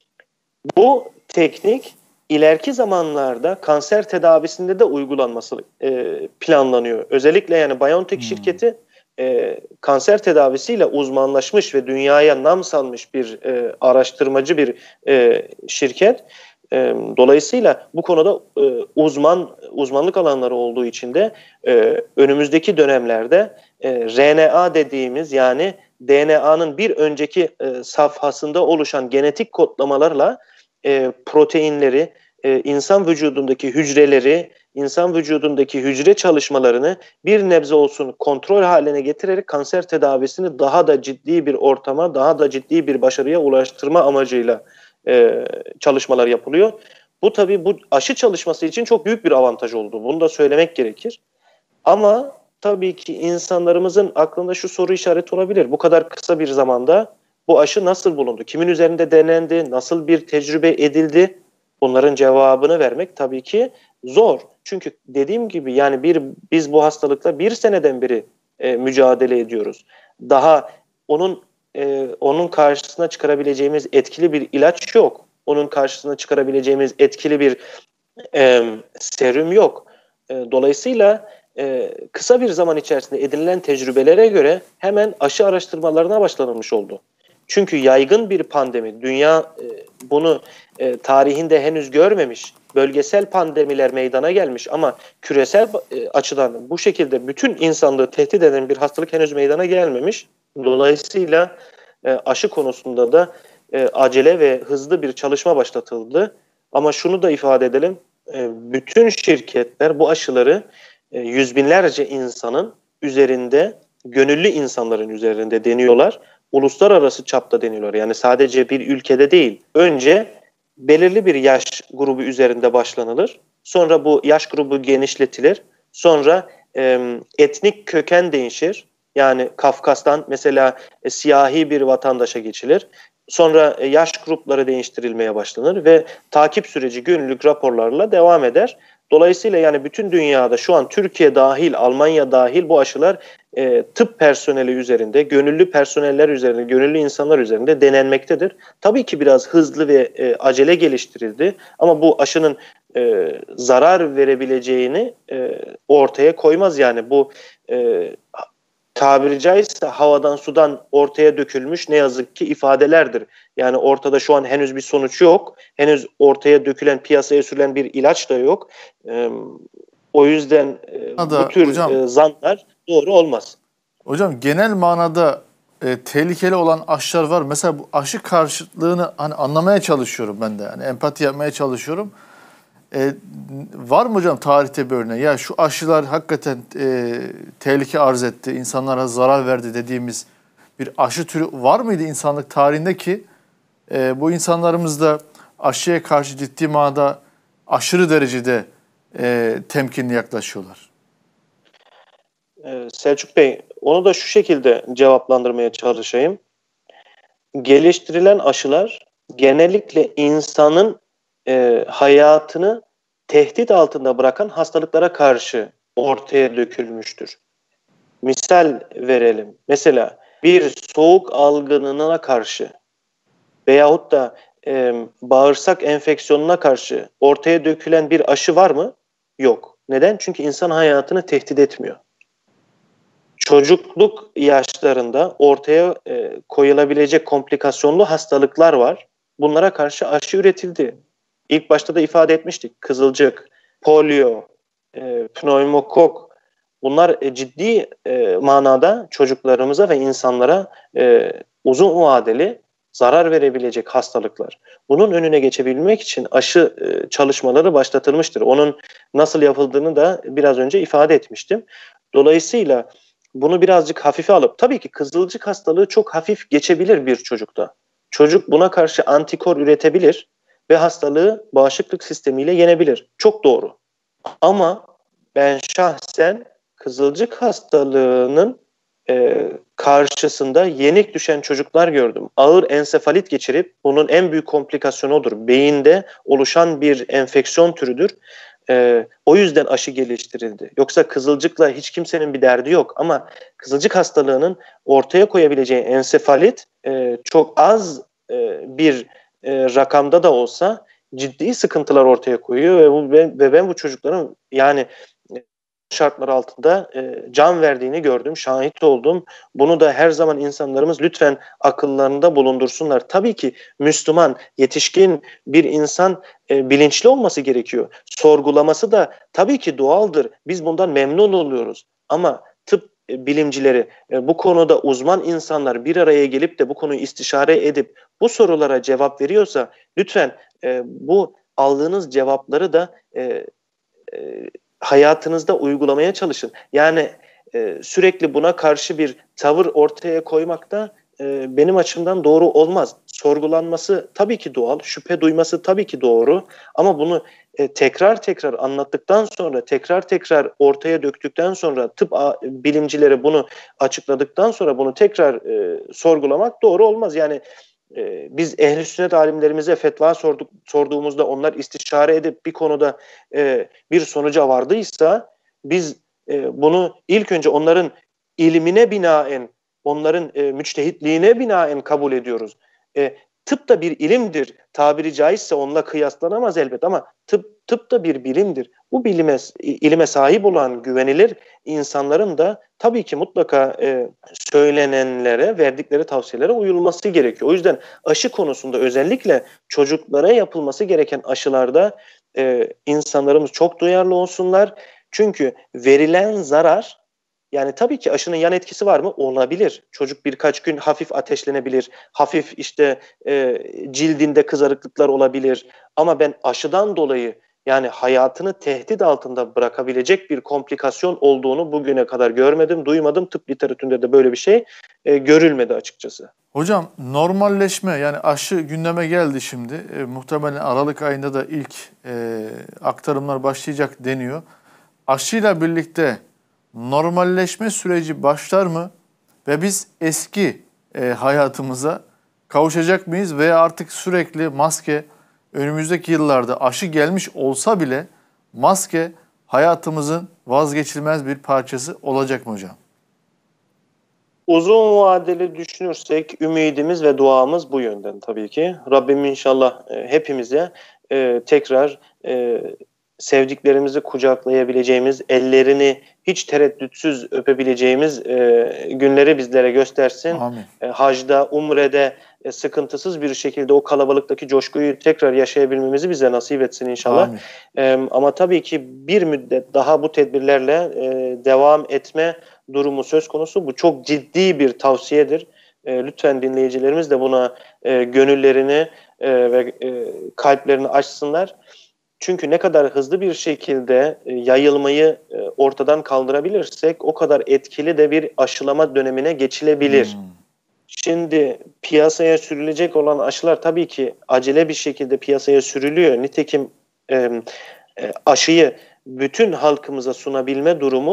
Bu teknik ileriki zamanlarda kanser tedavisinde de uygulanması planlanıyor. Özellikle yani BioNTech şirketi kanser tedavisiyle uzmanlaşmış ve dünyaya nam salmış bir araştırmacı bir şirket. Dolayısıyla bu konuda uzmanlık alanları olduğu için de önümüzdeki dönemlerde RNA dediğimiz yani DNA'nın bir önceki safhasında oluşan genetik kodlamalarla proteinleri, insan vücudundaki hücreleri, insan vücudundaki hücre çalışmalarını bir nebze olsun kontrol haline getirerek kanser tedavisini daha da ciddi bir ortama, daha da ciddi bir başarıya ulaştırma amacıyla çalışmalar yapılıyor. Bu tabii bu aşı çalışması için çok büyük bir avantaj oldu. Bunu da söylemek gerekir. Ama tabii ki insanlarımızın aklında şu soru işareti olabilir. Bu kadar kısa bir zamanda bu aşı nasıl bulundu? Kimin üzerinde denendi? Nasıl bir tecrübe edildi? Bunların cevabını vermek tabii ki zor. Çünkü dediğim gibi yani biz bu hastalıkla bir seneden beri mücadele ediyoruz. Daha onun karşısına çıkarabileceğimiz etkili bir ilaç yok. Onun karşısına çıkarabileceğimiz etkili bir serum yok. Dolayısıyla kısa bir zaman içerisinde edinilen tecrübelere göre hemen aşı araştırmalarına başlanılmış oldu. Çünkü yaygın bir pandemi, dünya bunu tarihinde henüz görmemiş, bölgesel pandemiler meydana gelmiş ama küresel açıdan bu şekilde bütün insanlığı tehdit eden bir hastalık henüz meydana gelmemiş. Dolayısıyla aşı konusunda da acele ve hızlı bir çalışma başlatıldı. Ama şunu da ifade edelim, bütün şirketler bu aşıları yüz binlerce insanın üzerinde, gönüllü insanların üzerinde deniyorlar. Uluslararası çapta deniyorlar. Yani sadece bir ülkede değil. Önce belirli bir yaş grubu üzerinde başlanılır. Sonra bu yaş grubu genişletilir. Sonra etnik köken değişir. Yani Kafkas'tan mesela siyahi bir vatandaşa geçilir. Sonra yaş grupları değiştirilmeye başlanır ve takip süreci günlük raporlarla devam eder. Dolayısıyla yani bütün dünyada şu an Türkiye dahil, Almanya dahil bu aşılar tıp personeli üzerinde, gönüllü personeller üzerinde, gönüllü insanlar üzerinde denenmektedir. Tabii ki biraz hızlı ve acele geliştirildi ama bu aşının zarar verebileceğini ortaya koymaz. Yani bu tabiri caizse havadan sudan ortaya dökülmüş ne yazık ki ifadelerdir. Yani ortada şu an henüz bir sonuç yok. Henüz ortaya dökülen, piyasaya sürülen bir ilaç da yok. O yüzden bu tür zanlar doğru olmaz. Hocam genel manada tehlikeli olan aşılar var. Mesela bu aşı karşıtlığını hani anlamaya çalışıyorum ben de. Yani empati yapmaya çalışıyorum. Var mı hocam tarihte bir örneği? Ya şu aşılar hakikaten tehlike arz etti, insanlara zarar verdi dediğimiz bir aşı türü var mıydı insanlık tarihinde ki bu insanlarımız da aşıya karşı ciddi manada aşırı derecede temkinli yaklaşıyorlar? Selçuk Bey, onu da şu şekilde cevaplandırmaya çalışayım. Geliştirilen aşılar genellikle insanın hayatını tehdit altında bırakan hastalıklara karşı ortaya dökülmüştür. Misal verelim. Mesela bir soğuk algınlığına karşı veyahut da bağırsak enfeksiyonuna karşı ortaya dökülen bir aşı var mı? Yok. Neden? Çünkü insan hayatını tehdit etmiyor. Çocukluk yaşlarında ortaya koyulabilecek komplikasyonlu hastalıklar var. Bunlara karşı aşı üretildi. İlk başta da ifade etmiştik. Kızılcık, polio, pneumokok. Bunlar ciddi manada çocuklarımıza ve insanlara uzun vadeli zarar verebilecek hastalıklar. Bunun önüne geçebilmek için aşı çalışmaları başlatılmıştır. Onun nasıl yapıldığını da biraz önce ifade etmiştim. Dolayısıyla bunu birazcık hafife alıp, tabii ki kızılcık hastalığı çok hafif geçebilir bir çocukta. Çocuk buna karşı antikor üretebilir ve hastalığı bağışıklık sistemiyle yenebilir. Çok doğru. Ama ben şahsen kızılcık hastalığının karşısında yenik düşen çocuklar gördüm. Ağır ensefalit geçirip, bunun en büyük komplikasyonu odur. Beyinde oluşan bir enfeksiyon türüdür. O yüzden aşı geliştirildi. Yoksa kızılcıkla hiç kimsenin bir derdi yok. Ama kızılcık hastalığının ortaya koyabileceği ensefalit çok az bir rakamda da olsa ciddi sıkıntılar ortaya koyuyor ve ben bu çocukların yani şartlar altında can verdiğini gördüm, şahit oldum. Bunu da her zaman insanlarımız lütfen akıllarında bulundursunlar. Tabii ki Müslüman, yetişkin bir insan bilinçli olması gerekiyor. Sorgulaması da tabii ki doğaldır. Biz bundan memnun oluyoruz. Ama tıp bilimcileri, bu konuda uzman insanlar bir araya gelip de bu konuyu istişare edip bu sorulara cevap veriyorsa lütfen bu aldığınız cevapları da hayatınızda uygulamaya çalışın. Yani sürekli buna karşı bir tavır ortaya koymak da benim açımdan doğru olmaz. Sorgulanması tabii ki doğal, şüphe duyması tabii ki doğru. Ama bunu tekrar tekrar anlattıktan sonra, tekrar tekrar ortaya döktükten sonra, tıp bilimcileri bunu açıkladıktan sonra bunu tekrar sorgulamak doğru olmaz. Yani biz ehl-i sünnet alimlerimize fetva sorduğumuzda onlar istişare edip bir konuda bir sonuca vardıysa biz bunu ilk önce onların ilmine binaen, onların müçtehitliğine binaen kabul ediyoruz. Tıp da bir ilimdir. Tabiri caizse onunla kıyaslanamaz elbet ama tıp da bir bilimdir. Bu ilime sahip olan güvenilir insanların da tabii ki mutlaka söylenenlere, verdikleri tavsiyelere uyulması gerekiyor. O yüzden aşı konusunda özellikle çocuklara yapılması gereken aşılarda insanlarımız çok duyarlı olsunlar. Çünkü verilen zarar, yani tabii ki aşının yan etkisi var mı? Olabilir. Çocuk birkaç gün hafif ateşlenebilir. Hafif işte cildinde kızarıklıklar olabilir. Ama ben aşıdan dolayı yani hayatını tehdit altında bırakabilecek bir komplikasyon olduğunu bugüne kadar görmedim, duymadım. Tıp literatüründe de böyle bir şey görülmedi açıkçası. Hocam normalleşme, yani aşı gündeme geldi şimdi. Muhtemelen Aralık ayında da ilk aktarımlar başlayacak deniyor. Aşıyla birlikte normalleşme süreci başlar mı? Ve biz eski hayatımıza kavuşacak mıyız? Veya artık sürekli maske, önümüzdeki yıllarda aşı gelmiş olsa bile maske hayatımızın vazgeçilmez bir parçası olacak mı hocam? Uzun vadeli düşünürsek ümidimiz ve duamız bu yönden tabii ki. Rabbim inşallah hepimize tekrar sevdiklerimizi kucaklayabileceğimiz, ellerini hiç tereddütsüz öpebileceğimiz günleri bizlere göstersin. Hacda, umrede sıkıntısız bir şekilde o kalabalıktaki coşkuyu tekrar yaşayabilmemizi bize nasip etsin inşallah. Ama tabii ki bir müddet daha bu tedbirlerle devam etme durumu söz konusu. Bu çok ciddi bir tavsiyedir. Lütfen dinleyicilerimiz de buna gönüllerini ve kalplerini açsınlar. Çünkü ne kadar hızlı bir şekilde yayılmayı ortadan kaldırabilirsek o kadar etkili de bir aşılama dönemine geçilebilir. Şimdi piyasaya sürülecek olan aşılar tabii ki acele bir şekilde piyasaya sürülüyor. Nitekim aşıyı bütün halkımıza sunabilme durumu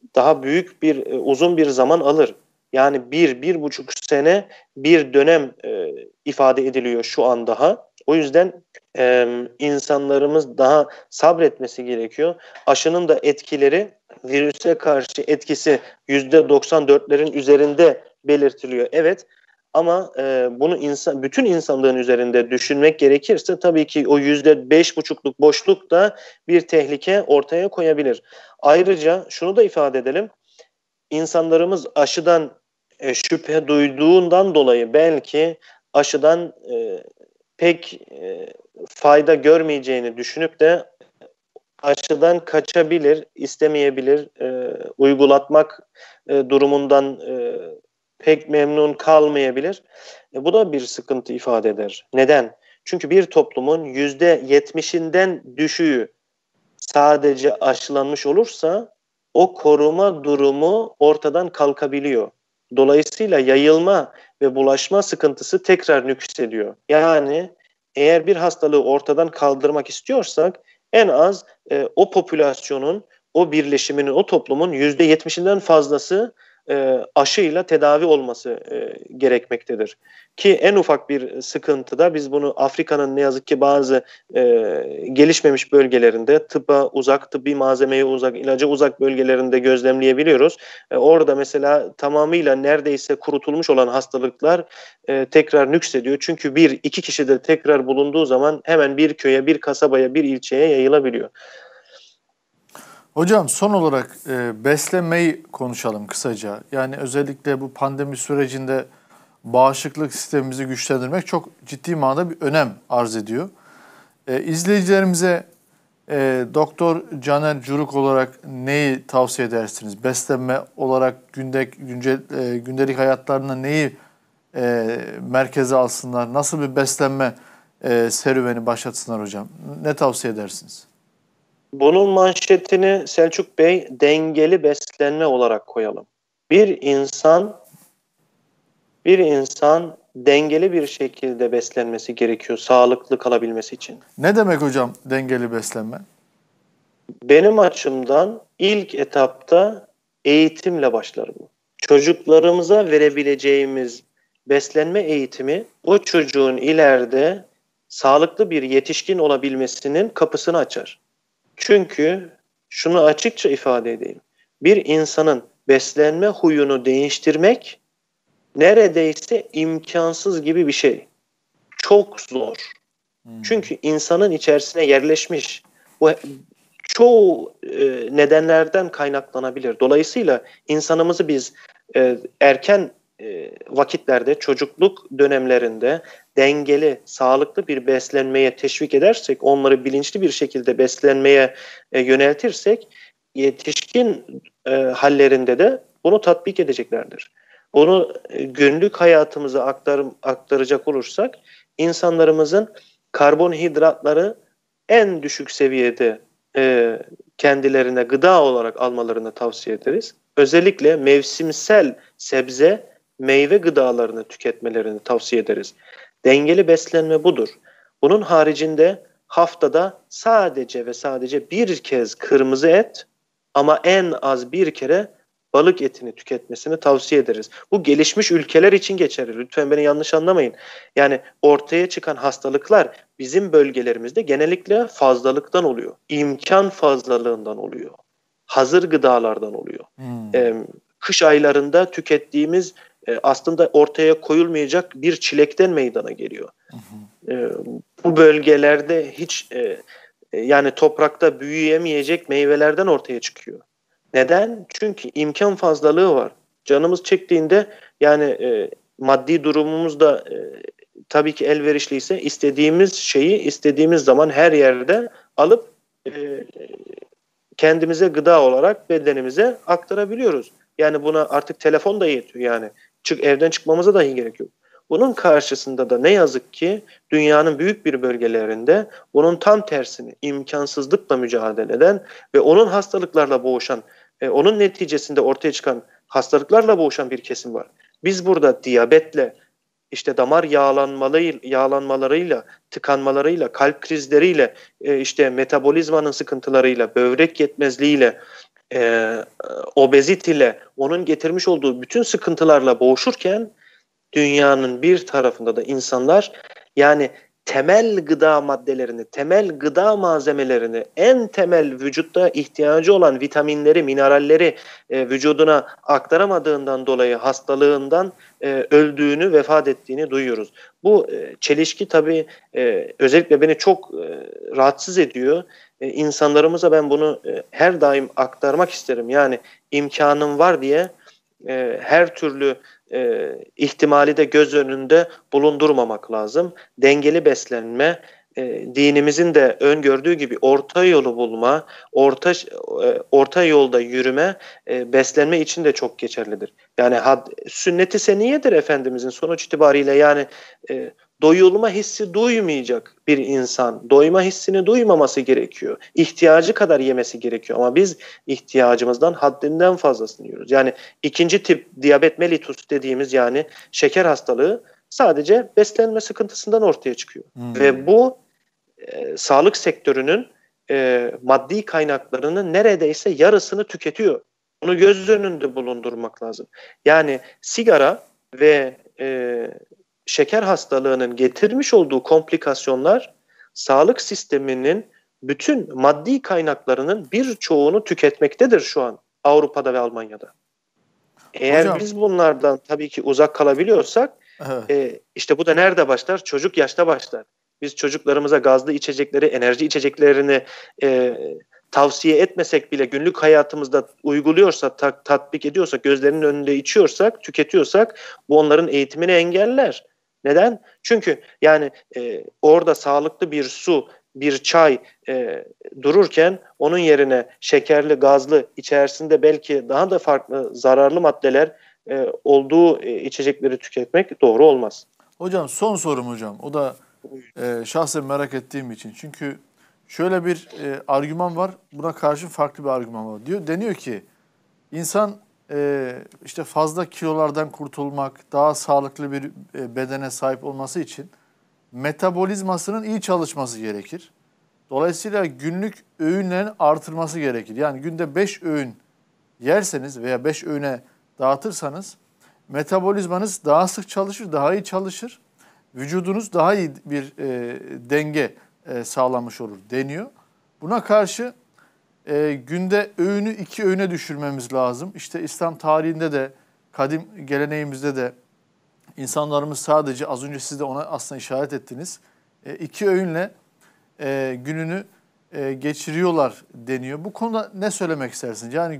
daha büyük uzun bir zaman alır. Yani 1,5 sene bir dönem ifade ediliyor şu an daha. O yüzden insanlarımız daha sabretmesi gerekiyor. Aşının da etkileri, virüse karşı etkisi %94'lerin üzerinde belirtiliyor. Evet, ama bunu bütün insanlığın üzerinde düşünmek gerekirse tabii ki o %5,5'luk boşluk da bir tehlike ortaya koyabilir. Ayrıca şunu da ifade edelim. İnsanlarımız aşıdan şüphe duyduğundan dolayı belki aşıdan pek fayda görmeyeceğini düşünüp de aşıdan kaçabilir, istemeyebilir, uygulatmak durumundan pek memnun kalmayabilir. Bu da bir sıkıntı ifade eder. Neden? Çünkü bir toplumun %70'inden düşüğü sadece aşılanmış olursa o koruma durumu ortadan kalkabiliyor. Dolayısıyla yayılma ve bulaşma sıkıntısı tekrar nüksediyor. Yani eğer bir hastalığı ortadan kaldırmak istiyorsak en az o popülasyonun, o birleşiminin, o toplumun %70'inden fazlası aşıyla tedavi olması gerekmektedir. Ki en ufak bir sıkıntıda biz bunu Afrika'nın ne yazık ki bazı gelişmemiş bölgelerinde tıbba uzak, tıbbi malzemeye uzak, ilaca uzak bölgelerinde gözlemleyebiliyoruz. Orada mesela tamamıyla neredeyse kurutulmuş olan hastalıklar tekrar nüksediyor. Çünkü iki kişi de tekrar bulunduğu zaman hemen bir köye, bir kasabaya, bir ilçeye yayılabiliyor. Hocam son olarak beslenmeyi konuşalım kısaca. Yani özellikle bu pandemi sürecinde bağışıklık sistemimizi güçlendirmek çok ciddi manada bir önem arz ediyor. İzleyicilerimize Doktor Caner Curuk olarak neyi tavsiye edersiniz? Beslenme olarak gündelik hayatlarında neyi merkeze alsınlar? Nasıl bir beslenme serüveni başlatsınlar hocam? Ne tavsiye edersiniz? Bunun manşetini Selçuk Bey dengeli beslenme olarak koyalım. Bir insan dengeli bir şekilde beslenmesi gerekiyor sağlıklı kalabilmesi için. Ne demek hocam dengeli beslenme? Benim açımdan ilk etapta eğitimle başlar bu. Çocuklarımıza verebileceğimiz beslenme eğitimi o çocuğun ileride sağlıklı bir yetişkin olabilmesinin kapısını açar. Çünkü şunu açıkça ifade edeyim. Bir insanın beslenme huyunu değiştirmek neredeyse imkansız gibi bir şey. Çok zor. Çünkü insanın içerisine yerleşmiş. Bu çoğu nedenlerden kaynaklanabilir. Dolayısıyla insanımızı biz erken vakitlerde, çocukluk dönemlerinde dengeli, sağlıklı bir beslenmeye teşvik edersek, onları bilinçli bir şekilde beslenmeye yöneltirsek, yetişkin hallerinde de bunu tatbik edeceklerdir. Bunu günlük hayatımıza aktaracak olursak, insanlarımızın karbonhidratları en düşük seviyede kendilerine gıda olarak almalarını tavsiye ederiz. Özellikle mevsimsel sebze, meyve gıdalarını tüketmelerini tavsiye ederiz. Dengeli beslenme budur. Bunun haricinde haftada sadece ve sadece bir kez kırmızı et ama en az bir kere balık etini tüketmesini tavsiye ederiz. Bu gelişmiş ülkeler için geçerli. Lütfen beni yanlış anlamayın. Yani ortaya çıkan hastalıklar bizim bölgelerimizde genellikle fazlalıktan oluyor. İmkan fazlalığından oluyor. Hazır gıdalardan oluyor. Kış aylarında tükettiğimiz aslında ortaya koyulmayacak bir çilekten meydana geliyor. Bu bölgelerde hiç yani toprakta büyüyemeyecek meyvelerden ortaya çıkıyor. Neden? Çünkü imkan fazlalığı var. Canımız çektiğinde yani maddi durumumuz da tabii ki elverişliyse istediğimiz şeyi istediğimiz zaman her yerde alıp kendimize gıda olarak bedenimize aktarabiliyoruz. Yani buna artık telefon da yetiyor yani. Evden çıkmamıza dahi gerek yok. Bunun karşısında da ne yazık ki dünyanın büyük bir bölgelerinde bunun tam tersini imkansızlıkla mücadele eden ve onun hastalıklarla boğuşan, onun neticesinde ortaya çıkan hastalıklarla boğuşan bir kesim var. Biz burada diyabetle, işte damar yağlanmalarıyla, tıkanmalarıyla, kalp krizleriyle, işte metabolizmanın sıkıntılarıyla, böbrek yetmezliğiyle, obezite onun getirmiş olduğu bütün sıkıntılarla boğuşurken dünyanın bir tarafında da insanlar yani temel gıda maddelerini, temel gıda malzemelerini, en temel vücutta ihtiyacı olan vitaminleri, mineralleri vücuduna aktaramadığından dolayı hastalığından öldüğünü, vefat ettiğini duyuyoruz. Bu çelişki tabii özellikle beni çok rahatsız ediyor. İnsanlarımıza ben bunu her daim aktarmak isterim. Yani imkanım var diye her türlü ihtimali de göz önünde bulundurmamak lazım. Dengeli beslenme, dinimizin de öngördüğü gibi orta yolu bulma, orta yolda yürüme, beslenme için de çok geçerlidir. Yani sünnet-i seniyedir Efendimizin sonuç itibariyle yani doyulma hissi duymayacak bir insan, doyma hissini duymaması gerekiyor. İhtiyacı kadar yemesi gerekiyor ama biz ihtiyacımızdan haddinden fazlasını yiyoruz. Yani ikinci tip diyabet mellitus dediğimiz yani şeker hastalığı sadece beslenme sıkıntısından ortaya çıkıyor. Ve bu sağlık sektörünün maddi kaynaklarının neredeyse yarısını tüketiyor. Bunu göz önünde bulundurmak lazım. Yani sigara ve şeker hastalığının getirmiş olduğu komplikasyonlar sağlık sisteminin bütün maddi kaynaklarının birçoğunu tüketmektedir şu an Avrupa'da ve Almanya'da. Eğer Hocam, biz bunlardan tabii ki uzak kalabiliyorsak işte bu da nerede başlar? Çocuk yaşta başlar. Biz çocuklarımıza gazlı içecekleri, enerji içeceklerini tavsiye etmesek bile günlük hayatımızda uyguluyorsak, tatbik ediyorsak, gözlerinin önünde içiyorsak, tüketiyorsak bu onların eğitimini engeller. Neden? Çünkü yani orada sağlıklı bir su, bir çay dururken onun yerine şekerli, gazlı, içerisinde belki daha da farklı zararlı maddeler olduğu içecekleri tüketmek doğru olmaz. Hocam son sorum hocam. O da şahsen merak ettiğim için. Çünkü şöyle bir argüman var. Buna karşı farklı bir argüman var. Deniyor ki insan işte fazla kilolardan kurtulmak, daha sağlıklı bir bedene sahip olması için metabolizmasının iyi çalışması gerekir. Dolayısıyla günlük öğünlerin artırması gerekir. Yani günde 5 öğün yerseniz veya 5 öğüne dağıtırsanız metabolizmanız daha sık çalışır, daha iyi çalışır. Vücudunuz daha iyi bir denge sağlamış olur deniyor. Buna karşı günde öğünü 2 öğüne düşürmemiz lazım. İşte İslam tarihinde de, kadim geleneğimizde de insanlarımız sadece az önce siz de ona aslında işaret ettiniz. 2 öğünle gününü geçiriyorlar deniyor. Bu konuda ne söylemek istersiniz? Yani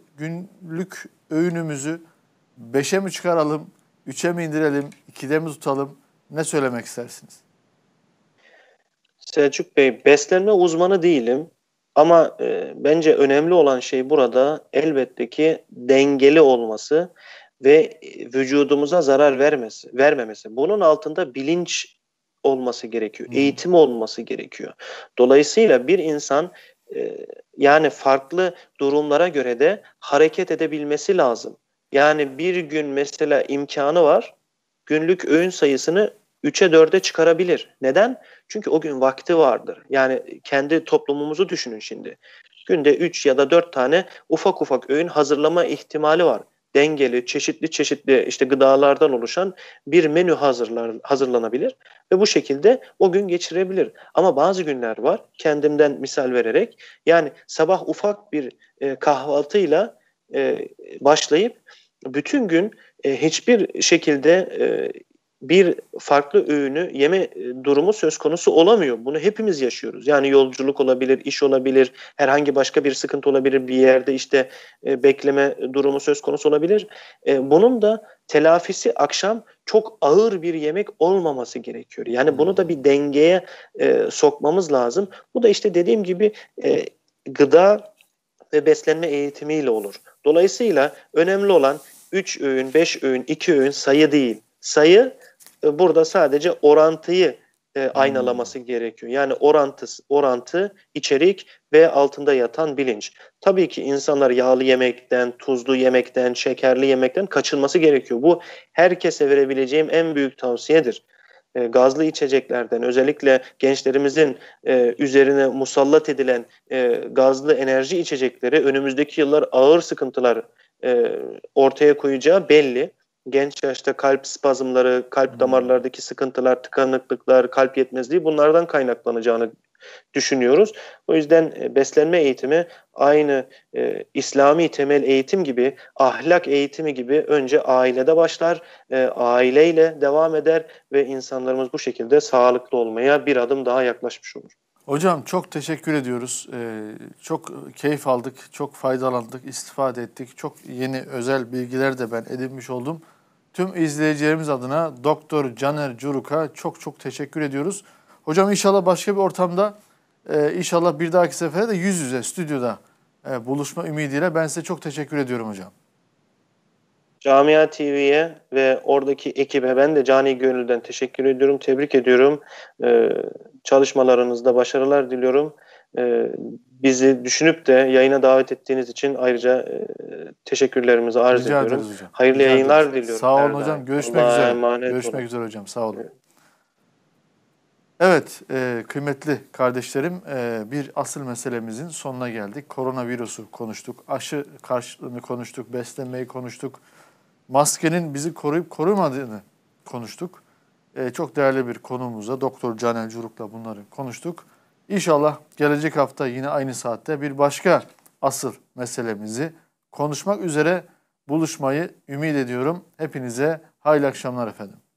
günlük öğünümüzü 5'e mi çıkaralım, 3'e mi indirelim, 2'de mi tutalım? Ne söylemek istersiniz? Selçuk Bey, beslenme uzmanı değilim ama bence önemli olan şey burada elbette ki dengeli olması ve vücudumuza zarar vermemesi. Bunun altında bilinç olması gerekiyor, eğitim olması gerekiyor. Dolayısıyla bir insan yani farklı durumlara göre de hareket edebilmesi lazım. Yani bir gün mesela imkanı var, günlük öğün sayısını 3'e 4'e çıkarabilir. Neden? Çünkü o gün vakti vardır. Yani kendi toplumumuzu düşünün şimdi. Günde 3 ya da 4 tane ufak ufak öğün hazırlama ihtimali var. Dengeli, çeşitli işte gıdalardan oluşan bir menü hazırlanabilir ve bu şekilde o gün geçirebilir. Ama bazı günler var, kendimden misal vererek, yani sabah ufak bir kahvaltıyla başlayıp bütün gün hiçbir şekilde bir farklı öğünü yeme durumu söz konusu olamıyor. Bunu hepimiz yaşıyoruz. Yani yolculuk olabilir, iş olabilir, herhangi başka bir sıkıntı olabilir, bir yerde işte bekleme durumu söz konusu olabilir. Bunun da telafisi akşam çok ağır bir yemek olmaması gerekiyor. Yani bunu da bir dengeye sokmamız lazım. Bu da işte dediğim gibi gıda ve beslenme eğitimiyle olur. Dolayısıyla önemli olan 3 öğün, 5 öğün, 2 öğün sayı değil. Sayı burada sadece orantıyı aynalaması gerekiyor. Yani orantı, içerik ve altında yatan bilinç. Tabii ki insanlar yağlı yemekten, tuzlu yemekten, şekerli yemekten kaçınması gerekiyor. Bu herkese verebileceğim en büyük tavsiyedir. gazlı içeceklerden, özellikle gençlerimizin üzerine musallat edilen gazlı enerji içecekleri önümüzdeki yıllar ağır sıkıntılar ortaya koyacağı belli. Genç yaşta kalp spazmları, kalp damarlardaki sıkıntılar, tıkanıklıklar, kalp yetmezliği bunlardan kaynaklanacağını düşünüyoruz. O yüzden beslenme eğitimi aynı İslami temel eğitim gibi, ahlak eğitimi gibi önce ailede başlar, aileyle devam eder ve insanlarımız bu şekilde sağlıklı olmaya bir adım daha yaklaşmış olur. Hocam çok teşekkür ediyoruz. Çok keyif aldık, çok faydalandık, istifade ettik. Çok yeni özel bilgiler de ben edinmiş oldum. Tüm izleyicilerimiz adına Doktor Caner Curuk'a çok teşekkür ediyoruz. Hocam inşallah başka bir ortamda, inşallah bir dahaki sefere de yüz yüze stüdyoda buluşma ümidiyle ben size çok teşekkür ediyorum hocam. Camia TV'ye ve oradaki ekibe ben de cani gönülden teşekkür ediyorum, tebrik ediyorum. Çalışmalarınızda başarılar diliyorum. Bizi düşünüp de yayına davet ettiğiniz için ayrıca teşekkürlerimizi arz Rica ediyorum. ederiz hocam. Hayırlı Rica yayınlar ederiz. diliyorum. Sağ olun her hocam. daim. Görüşmek Allah'a üzere. emanet Görüşmek olun. üzere hocam. Sağ olun. Evet. Evet, kıymetli kardeşlerim, bir asıl meselemizin sonuna geldik. Koronavirüsü konuştuk, aşı karşılığını konuştuk, beslenmeyi konuştuk, maskenin bizi koruyup korumadığını konuştuk. Çok değerli bir konuğumuzla, Doktor Caner Curuk'la bunları konuştuk. İnşallah gelecek hafta yine aynı saatte bir başka asıl meselemizi konuşmak üzere buluşmayı ümit ediyorum. Hepinize hayırlı akşamlar efendim.